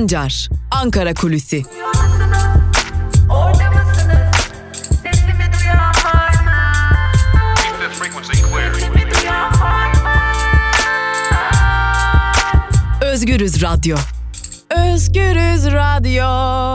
Sancar, Ankara Kulüsi. Özgürüz Radyo. Özgürüz Radyo.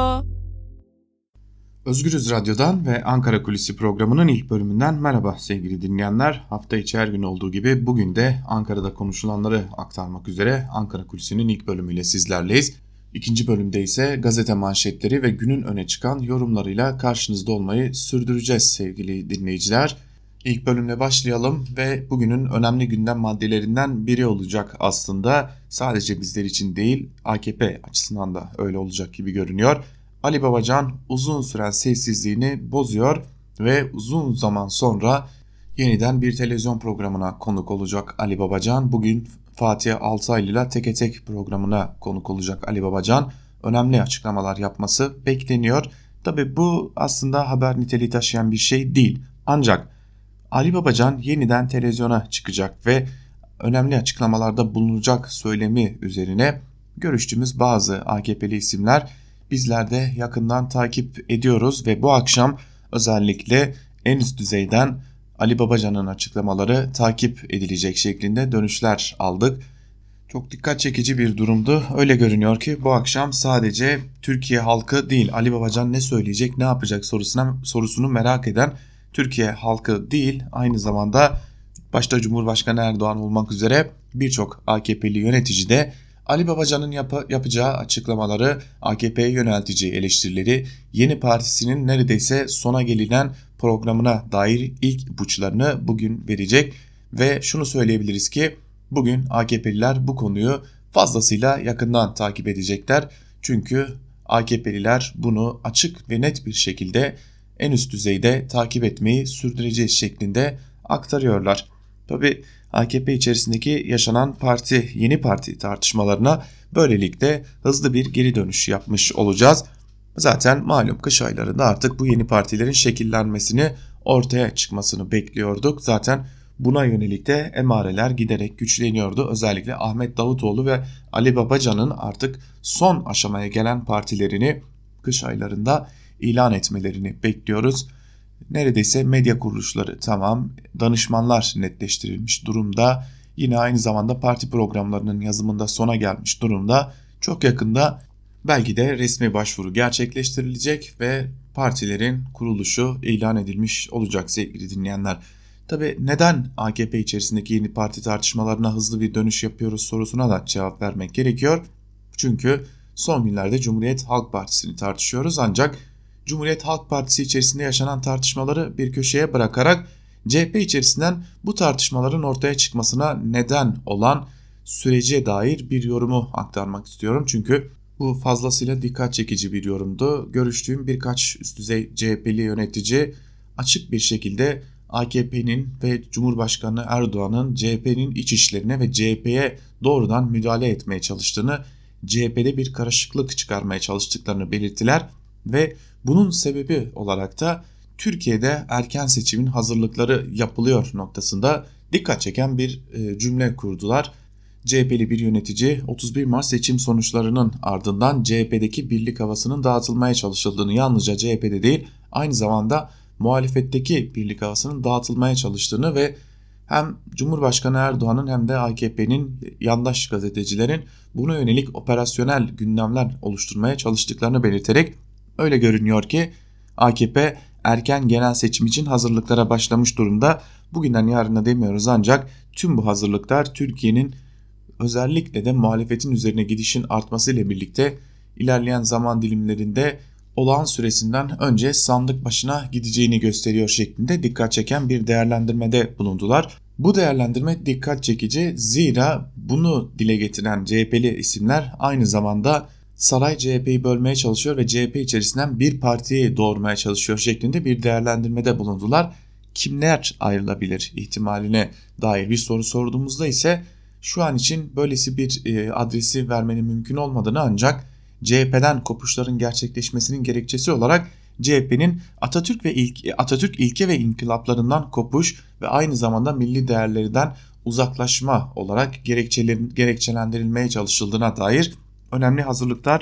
Özgürüz Radyo'dan ve Ankara Kulisi programının ilk bölümünden merhaba sevgili dinleyenler. Hafta içi her gün olduğu gibi bugün de Ankara'da konuşulanları aktarmak üzere Ankara Kulisi'nin ilk bölümüyle sizlerleyiz. İkinci bölümde ise gazete manşetleri ve günün öne çıkan yorumlarıyla karşınızda olmayı sürdüreceğiz sevgili dinleyiciler. İlk bölümle başlayalım ve bugünün önemli gündem maddelerinden biri olacak aslında. Sadece bizler için değil, AKP açısından da öyle olacak gibi görünüyor. Ali Babacan uzun süren sessizliğini bozuyor ve uzun zaman sonra yeniden bir televizyon programına konuk olacak Ali Babacan. Bugün Fatih Altaylı ile Teke Tek programına konuk olacak Ali Babacan. Önemli açıklamalar yapması bekleniyor. Tabii bu aslında haber niteliği taşıyan bir şey değil. Ancak Ali Babacan yeniden televizyona çıkacak ve önemli açıklamalarda bulunacak söylemi üzerine görüştüğümüz bazı AKP'li isimler bizler de yakından takip ediyoruz ve bu akşam özellikle en üst düzeyden Ali Babacan'ın açıklamaları takip edilecek şeklinde dönüşler aldık. Çok dikkat çekici bir durumdu. Öyle görünüyor ki bu akşam sadece Türkiye halkı değil, Ali Babacan ne söyleyecek, ne yapacak sorusunu merak eden Türkiye halkı değil, aynı zamanda başta Cumhurbaşkanı Erdoğan olmak üzere birçok AKP'li yönetici de Ali Babacan'ın yapacağı açıklamaları, AKP'ye yönelteceği eleştirileri, yeni partisinin neredeyse sona gelinen programına dair ilk ipuçlarını bugün verecek ve şunu söyleyebiliriz ki bugün AKP'liler bu konuyu fazlasıyla yakından takip edecekler. Çünkü AKP'liler bunu açık ve net bir şekilde en üst düzeyde takip etmeyi sürdüreceğiz şeklinde aktarıyorlar. Tabii AKP içerisindeki yaşanan yeni parti tartışmalarına böylelikle hızlı bir geri dönüş yapmış olacağız. Zaten malum kış aylarında artık bu yeni partilerin şekillenmesini, ortaya çıkmasını bekliyorduk. Zaten buna yönelik de emareler giderek güçleniyordu. Özellikle Ahmet Davutoğlu ve Ali Babacan'ın artık son aşamaya gelen partilerini kış aylarında ilan etmelerini bekliyoruz. Neredeyse medya kuruluşları tamam, danışmanlar netleştirilmiş durumda. Yine aynı zamanda parti programlarının yazımında sona gelmiş durumda. Çok yakında belki de resmi başvuru gerçekleştirilecek ve partilerin kuruluşu ilan edilmiş olacak sevgili dinleyenler. Tabii neden AKP içerisindeki yeni parti tartışmalarına hızlı bir dönüş yapıyoruz sorusuna da cevap vermek gerekiyor. Çünkü son günlerde Cumhuriyet Halk Partisi'ni tartışıyoruz ancak Cumhuriyet Halk Partisi içerisinde yaşanan tartışmaları bir köşeye bırakarak CHP içerisinden bu tartışmaların ortaya çıkmasına neden olan sürece dair bir yorumu aktarmak istiyorum. Çünkü bu fazlasıyla dikkat çekici bir yorumdu. Görüştüğüm birkaç üst düzey CHP'li yönetici açık bir şekilde AKP'nin ve Cumhurbaşkanı Erdoğan'ın CHP'nin iç işlerine ve CHP'ye doğrudan müdahale etmeye çalıştığını, CHP'de bir karışıklık çıkarmaya çalıştıklarını belirttiler ve bunun sebebi olarak da Türkiye'de erken seçimin hazırlıkları yapılıyor noktasında dikkat çeken bir cümle kurdular. CHP'li bir yönetici 31 Mart seçim sonuçlarının ardından CHP'deki birlik havasının dağıtılmaya çalışıldığını, yalnızca CHP'de değil aynı zamanda muhalefetteki birlik havasının dağıtılmaya çalıştığını ve hem Cumhurbaşkanı Erdoğan'ın hem de AKP'nin yandaş gazetecilerin buna yönelik operasyonel gündemler oluşturmaya çalıştıklarını belirterek öyle görünüyor ki AKP erken genel seçim için hazırlıklara başlamış durumda. Bugünden yarına demiyoruz ancak tüm bu hazırlıklar Türkiye'nin özellikle de muhalefetin üzerine gidişin artmasıyla birlikte ilerleyen zaman dilimlerinde olağan süresinden önce sandık başına gideceğini gösteriyor şeklinde dikkat çeken bir değerlendirmede bulundular. Bu değerlendirme dikkat çekici, zira bunu dile getiren CHP'li isimler aynı zamanda saray CHP'yi bölmeye çalışıyor ve CHP içerisinden bir partiyi doğurmaya çalışıyor şeklinde bir değerlendirmede bulundular. Kimler ayrılabilir ihtimaline dair bir soru sorduğumuzda ise şu an için böylesi bir adresi vermenin mümkün olmadığını, ancak CHP'den kopuşların gerçekleşmesinin gerekçesi olarak CHP'nin Atatürk ilke ve inkılaplarından kopuş ve aynı zamanda milli değerlerden uzaklaşma olarak gerekçelendirilmeye çalışıldığına dair önemli hazırlıklar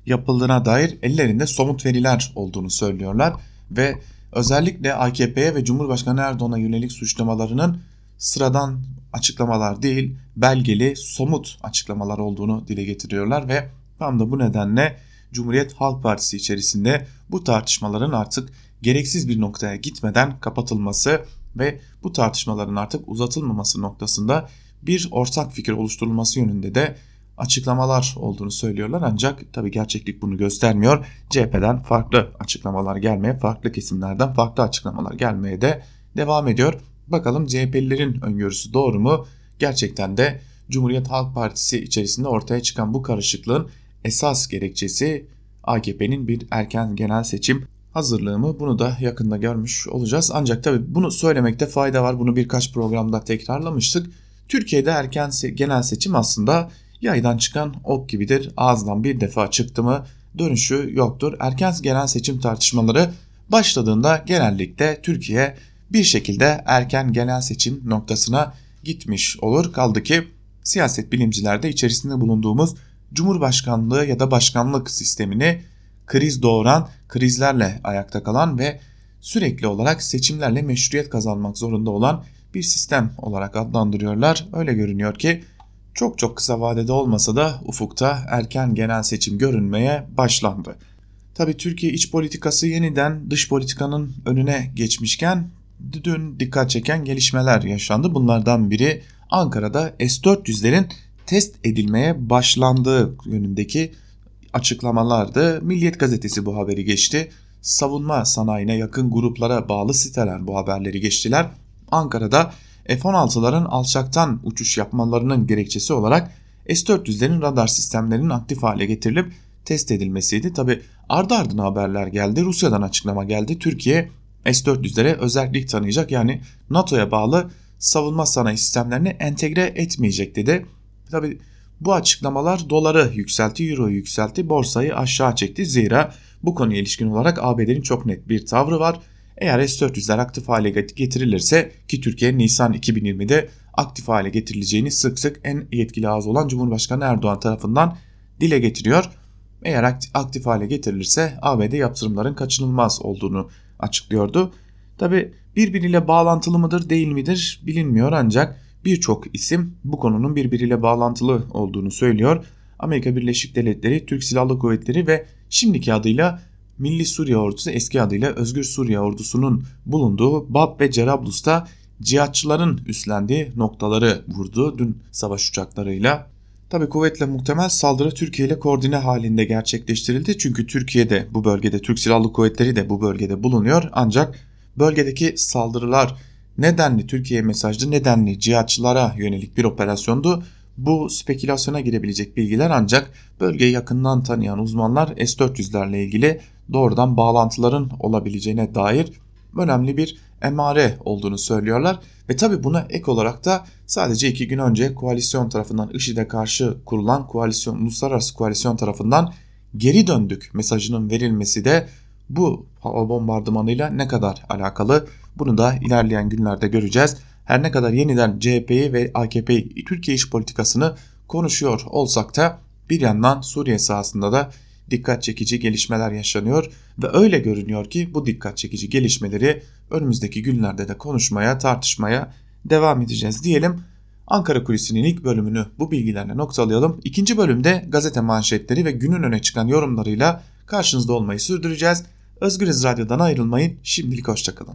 yapıldığına dair ellerinde somut veriler olduğunu söylüyorlar ve özellikle AKP'ye ve Cumhurbaşkanı Erdoğan'a yönelik suçlamalarının sıradan açıklamalar değil, belgeli, somut açıklamalar olduğunu dile getiriyorlar ve tam da bu nedenle Cumhuriyet Halk Partisi içerisinde bu tartışmaların artık gereksiz bir noktaya gitmeden kapatılması ve bu tartışmaların artık uzatılmaması noktasında bir ortak fikir oluşturulması yönünde de açıklamalar olduğunu söylüyorlar. Ancak tabii gerçeklik bunu göstermiyor. CHP'den farklı açıklamalar gelmeye, farklı kesimlerden farklı açıklamalar gelmeye de devam ediyor. Bakalım CHP'lilerin öngörüsü doğru mu? Gerçekten de Cumhuriyet Halk Partisi içerisinde ortaya çıkan bu karışıklığın esas gerekçesi AKP'nin bir erken genel seçim hazırlığı mı? Bunu da yakında görmüş olacağız. Ancak tabii bunu söylemekte fayda var. Bunu birkaç programda tekrarlamıştık. Türkiye'de erken genel seçim aslında yaydan çıkan ok gibidir. Ağızdan bir defa çıktı mı dönüşü yoktur. Erken genel seçim tartışmaları başladığında genellikle Türkiye bir şekilde erken genel seçim noktasına gitmiş olur. Kaldı ki siyaset bilimciler de içerisinde bulunduğumuz Cumhurbaşkanlığı ya da başkanlık sistemini kriz doğuran, krizlerle ayakta kalan ve sürekli olarak seçimlerle meşruiyet kazanmak zorunda olan bir sistem olarak adlandırıyorlar. Öyle görünüyor ki çok kısa vadede olmasa da ufukta erken genel seçim görünmeye başlandı. Tabii Türkiye iç politikası yeniden dış politikanın önüne geçmişken dün dikkat çeken gelişmeler yaşandı. Bunlardan biri Ankara'da S-400'lerin test edilmeye başlandığı yönündeki açıklamalardı. Milliyet gazetesi bu haberi geçti. Savunma sanayine yakın gruplara bağlı siteler bu haberleri geçtiler. Ankara'da F-16'ların alçaktan uçuş yapmalarının gerekçesi olarak S-400'lerin radar sistemlerinin aktif hale getirilip test edilmesiydi. Tabi ardı ardına haberler geldi. Rusya'dan açıklama geldi. Türkiye S-400'lere özellik tanıyacak, yani NATO'ya bağlı savunma sanayi sistemlerini entegre etmeyecek dedi. Tabi bu açıklamalar doları yükseltti, euroyu yükseltti, borsayı aşağı çekti. Zira bu konuya ilişkin olarak ABD'nin çok net bir tavrı var. Eğer S-400'ler aktif hale getirilirse, ki Türkiye Nisan 2020'de aktif hale getirileceğini sık sık en yetkili ağız olan Cumhurbaşkanı Erdoğan tarafından dile getiriyor. Eğer aktif hale getirilirse ABD yaptırımların kaçınılmaz olduğunu açıklıyordu. Tabi birbiriyle bağlantılı mıdır değil midir bilinmiyor, ancak birçok isim bu konunun birbiriyle bağlantılı olduğunu söylüyor. Amerika Birleşik Devletleri, Türk Silahlı Kuvvetleri ve şimdiki adıyla Milli Suriye Ordusu, eski adıyla Özgür Suriye Ordusu'nun bulunduğu Bab ve Cerablus'ta cihatçıların üstlendiği noktaları vurdu dün savaş uçaklarıyla. Tabi kuvvetle muhtemel saldırı Türkiye ile koordine halinde gerçekleştirildi. Çünkü Türkiye'de bu bölgede, Türk Silahlı Kuvvetleri de bu bölgede bulunuyor. Ancak bölgedeki saldırılar nedenli Türkiye mesajlı, nedenli cihatçılara yönelik bir operasyondu. Bu spekülasyona girebilecek bilgiler, ancak bölgeyi yakından tanıyan uzmanlar S-400'lerle ilgili doğrudan bağlantıların olabileceğine dair önemli bir emare olduğunu söylüyorlar. Ve tabi buna ek olarak da sadece 2 gün önce koalisyon tarafından, IŞİD'e karşı kurulan uluslararası koalisyon tarafından geri döndük mesajının verilmesi de bu hava bombardımanıyla ne kadar alakalı, bunu da ilerleyen günlerde göreceğiz. Her ne kadar yeniden CHP'yi ve AKP'yi, Türkiye iç politikasını konuşuyor olsak da bir yandan Suriye sahasında da dikkat çekici gelişmeler yaşanıyor ve öyle görünüyor ki bu dikkat çekici gelişmeleri önümüzdeki günlerde de konuşmaya, tartışmaya devam edeceğiz diyelim. Ankara Kulisi'nin ilk bölümünü bu bilgilerle noktalayalım. İkinci bölümde gazete manşetleri ve günün öne çıkan yorumlarıyla karşınızda olmayı sürdüreceğiz. Özgürüz Radyo'dan ayrılmayın. Şimdilik hoşçakalın.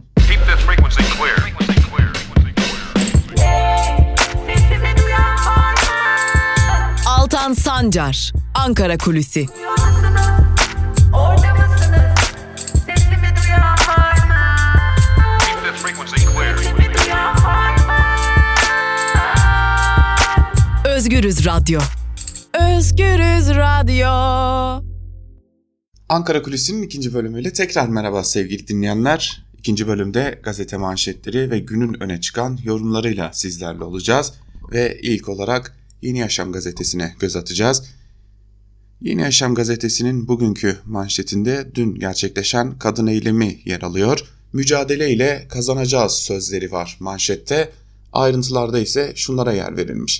Altan Sancar, Ankara Kulüsi. Özgürüz Radyo. Özgürüz Radyo. Ankara Kulisi'nin ikinci bölümüyle tekrar merhaba sevgili dinleyenler. İkinci bölümde gazete manşetleri ve günün öne çıkan yorumlarıyla sizlerle olacağız. Ve ilk olarak Yeni Yaşam gazetesine göz atacağız. Yeni Yaşam gazetesinin bugünkü manşetinde dün gerçekleşen kadın eylemi yer alıyor. Mücadele ile kazanacağız sözleri var manşette. Ayrıntılarda ise şunlara yer verilmiş.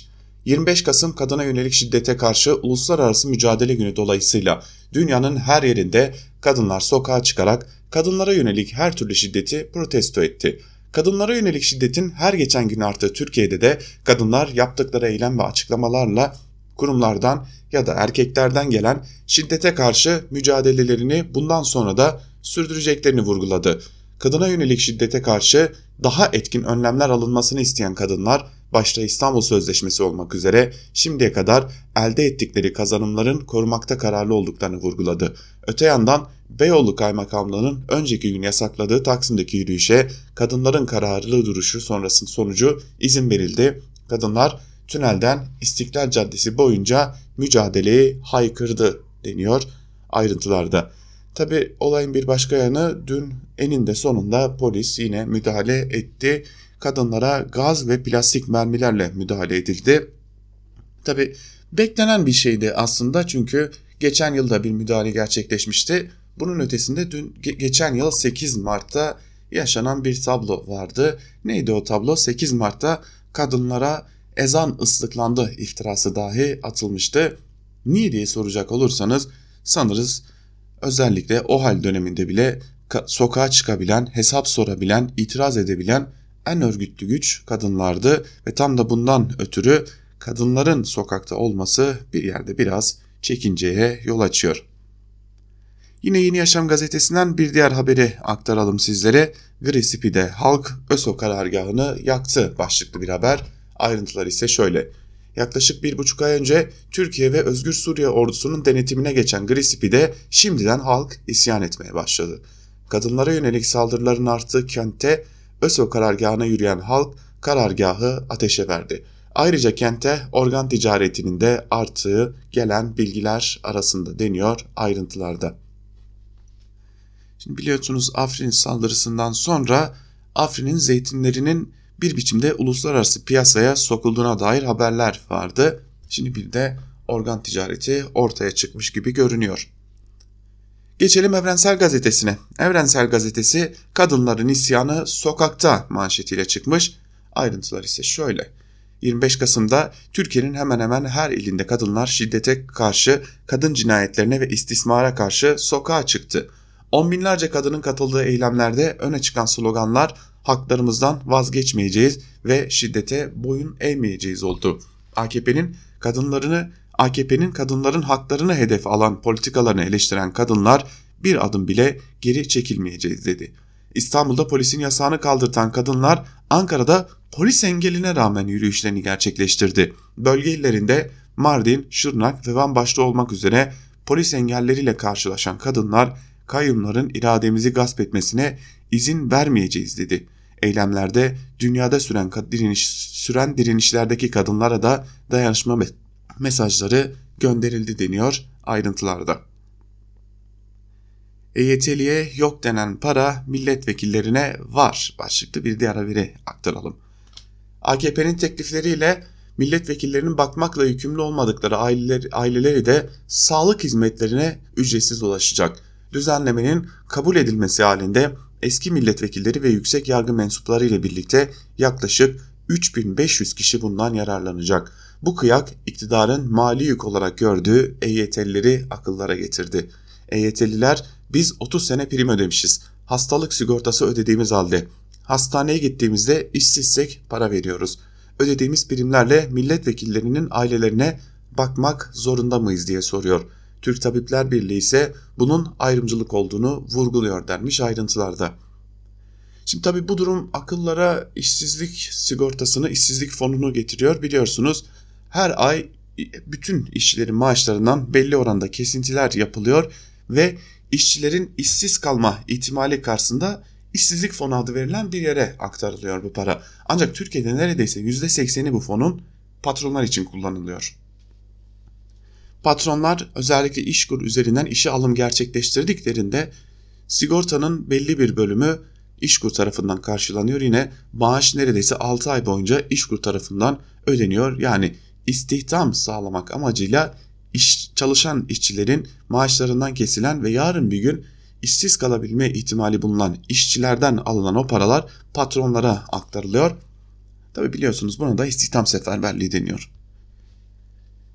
25 Kasım Kadına Yönelik Şiddete Karşı Uluslararası Mücadele Günü dolayısıyla dünyanın her yerinde kadınlar sokağa çıkarak kadınlara yönelik her türlü şiddeti protesto etti. Kadınlara yönelik şiddetin her geçen gün arttığı Türkiye'de de kadınlar yaptıkları eylem ve açıklamalarla kurumlardan ya da erkeklerden gelen şiddete karşı mücadelelerini bundan sonra da sürdüreceklerini vurguladı. Kadına yönelik şiddete karşı daha etkin önlemler alınmasını isteyen kadınlar, başta İstanbul Sözleşmesi olmak üzere şimdiye kadar elde ettikleri kazanımların korumakta kararlı olduklarını vurguladı. Öte yandan Beyoğlu Kaymakamlığı'nın önceki gün yasakladığı Taksim'deki yürüyüşe kadınların kararlı duruşu sonrasının sonucu izin verildi. Kadınlar tünelden İstiklal Caddesi boyunca mücadeleyi haykırdı deniyor ayrıntılarda. Tabi olayın bir başka yanı, dün eninde sonunda polis yine müdahale etti. Kadınlara gaz ve plastik mermilerle müdahale edildi. Tabi beklenen bir şeydi aslında, çünkü geçen yılda bir müdahale gerçekleşmişti. Bunun ötesinde geçen yıl 8 Mart'ta yaşanan bir tablo vardı. Neydi o tablo? 8 Mart'ta kadınlara ezan ıslıklandı iftirası dahi atılmıştı. Niye diye soracak olursanız, sanırız özellikle o hal döneminde bile sokağa çıkabilen, hesap sorabilen, itiraz edebilen en örgütlü güç kadınlardı ve tam da bundan ötürü kadınların sokakta olması bir yerde biraz çekinceye yol açıyor. Yine Yeni Yaşam gazetesinden bir diğer haberi aktaralım sizlere. Gri-Sipi'de halk ÖSO karargahını yaktı başlıklı bir haber. Ayrıntılar ise şöyle. Yaklaşık 1,5 ay önce Türkiye ve Özgür Suriye ordusunun denetimine geçen Gri-Sipi'de şimdiden halk isyan etmeye başladı. Kadınlara yönelik saldırıların arttığı kentte ÖSO karargahına yürüyen halk karargahı ateşe verdi. Ayrıca kente organ ticaretinin de arttığı gelen bilgiler arasında deniyor ayrıntılarda. Şimdi biliyorsunuz, Afrin saldırısından sonra Afrin'in zeytinlerinin bir biçimde uluslararası piyasaya sokulduğuna dair haberler vardı. Şimdi bir de organ ticareti ortaya çıkmış gibi görünüyor. Geçelim Evrensel Gazetesi'ne. Evrensel Gazetesi kadınların isyanı sokakta manşetiyle çıkmış. Ayrıntılar ise şöyle. 25 Kasım'da Türkiye'nin hemen hemen her ilinde kadınlar şiddete karşı, kadın cinayetlerine ve istismara karşı sokağa çıktı. On binlerce kadının katıldığı eylemlerde öne çıkan sloganlar haklarımızdan vazgeçmeyeceğiz ve şiddete boyun eğmeyeceğiz oldu. AKP'nin kadınların haklarını hedef alan politikalarını eleştiren kadınlar bir adım bile geri çekilmeyeceğiz dedi. İstanbul'da polisin yasağını kaldırtan kadınlar Ankara'da polis engeline rağmen yürüyüşlerini gerçekleştirdi. Bölge illerinde Mardin, Şırnak ve Van başta olmak üzere polis engelleriyle karşılaşan kadınlar kayyumların irademizi gasp etmesine izin vermeyeceğiz dedi. Eylemlerde dünyada süren direnişlerdeki kadınlara da dayanışma mesajları gönderildi deniyor ayrıntılarda. EYT'liye yok denen para milletvekillerine var başlıklı bir diğer haberi aktaralım. AKP'nin teklifleriyle milletvekillerinin bakmakla yükümlü olmadıkları aileleri de sağlık hizmetlerine ücretsiz ulaşacak. Düzenlemenin kabul edilmesi halinde eski milletvekilleri ve yüksek yargı mensupları ile birlikte yaklaşık 3500 kişi bundan yararlanacak. Bu kıyak iktidarın mali yük olarak gördüğü EYT'lileri akıllara getirdi. EYT'liler biz 30 sene prim ödemişiz. Hastalık sigortası ödediğimiz halde hastaneye gittiğimizde işsizsek para veriyoruz. Ödediğimiz primlerle milletvekillerinin ailelerine bakmak zorunda mıyız diye soruyor. Türk Tabipler Birliği ise bunun ayrımcılık olduğunu vurguluyor denmiş ayrıntılarda. Şimdi tabii bu durum akıllara işsizlik sigortasını, işsizlik fonunu getiriyor. Biliyorsunuz her ay bütün işçilerin maaşlarından belli oranda kesintiler yapılıyor ve işçilerin işsiz kalma ihtimali karşısında işsizlik fonu adı verilen bir yere aktarılıyor bu para. Ancak Türkiye'de neredeyse %80'i bu fonun patronlar için kullanılıyor. Patronlar özellikle İşkur üzerinden işe alım gerçekleştirdiklerinde sigortanın belli bir bölümü İşkur tarafından karşılanıyor. Yine maaş neredeyse 6 ay boyunca İşkur tarafından ödeniyor. Yani istihdam sağlamak amacıyla çalışan işçilerin maaşlarından kesilen ve yarın bir gün işsiz kalabilme ihtimali bulunan işçilerden alınan o paralar patronlara aktarılıyor. Tabi biliyorsunuz buna da istihdam seferberliği deniyor.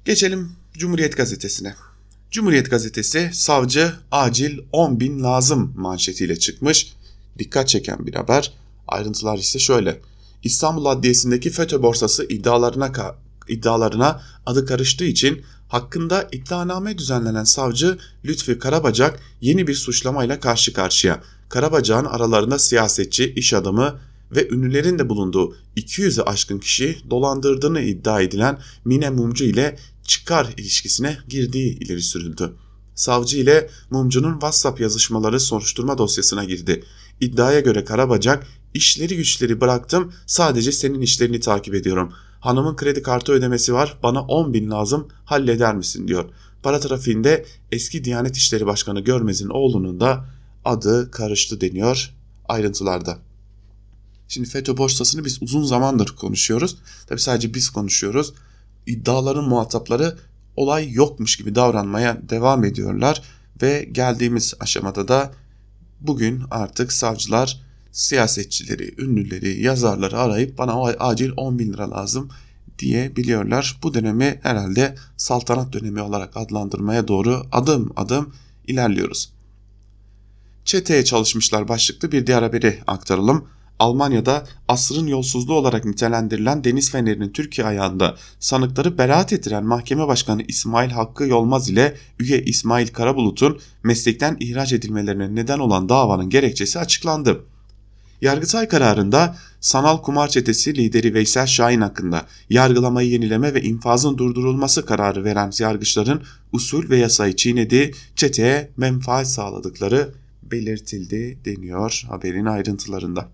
Geçelim Cumhuriyet Gazetesi'ne. Cumhuriyet Gazetesi savcı acil 10.000 lazım manşetiyle çıkmış. Dikkat çeken bir haber. Ayrıntılar ise şöyle. İstanbul Adliyesi'ndeki FETÖ borsası iddialarına adı karıştığı için hakkında iddianame düzenlenen savcı Lütfi Karabacak yeni bir suçlamayla karşı karşıya. Karabacak'ın aralarında siyasetçi, iş adamı ve ünlülerin de bulunduğu 200'ü aşkın kişi dolandırdığını iddia edilen Mine Mumcu ile çıkar ilişkisine girdiği ileri sürüldü. Savcı ile Mumcu'nun WhatsApp yazışmaları soruşturma dosyasına girdi. İddiaya göre Karabacak, işleri güçleri bıraktım, sadece senin işlerini takip ediyorum. Hanımın kredi kartı ödemesi var, bana 10.000 lazım, halleder misin diyor. Para trafiğinde eski Diyanet İşleri Başkanı Görmez'in oğlunun da adı karıştı deniyor ayrıntılarda. Şimdi FETÖ borsasını biz uzun zamandır konuşuyoruz. Tabii sadece biz konuşuyoruz. İddiaların muhatapları olay yokmuş gibi davranmaya devam ediyorlar. Ve geldiğimiz aşamada da bugün artık savcılar siyasetçileri, ünlüleri, yazarları arayıp bana acil 10.000 lira lazım diyebiliyorlar. Bu dönemi herhalde saltanat dönemi olarak adlandırmaya doğru adım adım ilerliyoruz. Çeteye çalışmışlar başlıklı bir diğer haberi aktaralım. Almanya'da asrın yolsuzluğu olarak nitelendirilen Deniz Feneri'nin Türkiye ayağında sanıkları beraat ettiren Mahkeme Başkanı İsmail Hakkı Yolmaz ile üye İsmail Karabulut'un meslekten ihraç edilmelerine neden olan davanın gerekçesi açıklandı. Yargıtay kararında sanal kumar çetesi lideri Veysel Şahin hakkında yargılamayı yenileme ve infazın durdurulması kararı veren yargıçların usul ve yasayı çiğnediği, çeteye menfaat sağladıkları belirtildi deniyor haberin ayrıntılarında.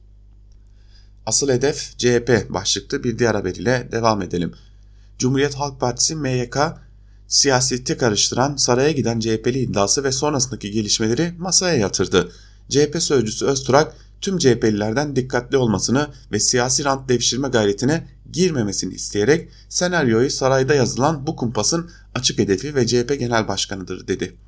Asıl hedef CHP başlıklı bir diğer haber ile devam edelim. Cumhuriyet Halk Partisi MYK siyaseti karıştıran saraya giden CHP'li iddiası ve sonrasındaki gelişmeleri masaya yatırdı. CHP sözcüsü Öztürk tüm CHP'lilerden dikkatli olmasını ve siyasi rant devşirme gayretine girmemesini isteyerek senaryoyu sarayda yazılan bu kumpasın açık hedefi ve CHP Genel Başkanı'dır dedi.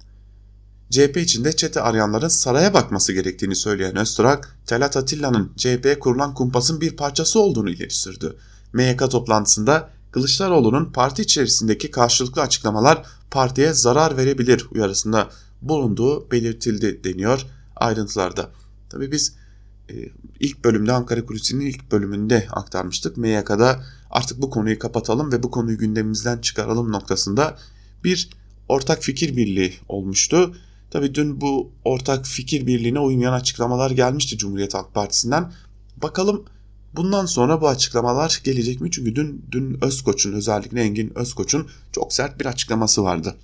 CHP içinde çete arayanların saraya bakması gerektiğini söyleyen Öztürk, Talat Atilla'nın CHP'ye kurulan kumpasın bir parçası olduğunu ileri sürdü. MYK toplantısında Kılıçdaroğlu'nun parti içerisindeki karşılıklı açıklamalar partiye zarar verebilir uyarısında bulunduğu belirtildi deniyor ayrıntılarda. Tabii biz ilk bölümde Ankara Kulisi'nin ilk bölümünde aktarmıştık. MYK'da artık bu konuyu kapatalım ve bu konuyu gündemimizden çıkaralım noktasında bir ortak fikir birliği olmuştu. Tabii dün bu ortak fikir birliğine uymayan açıklamalar gelmişti Cumhuriyet Halk Partisi'nden. Bakalım bundan sonra bu açıklamalar gelecek mi? Çünkü dün Özkoç'un, özellikle Engin Özkoç'un çok sert bir açıklaması vardı.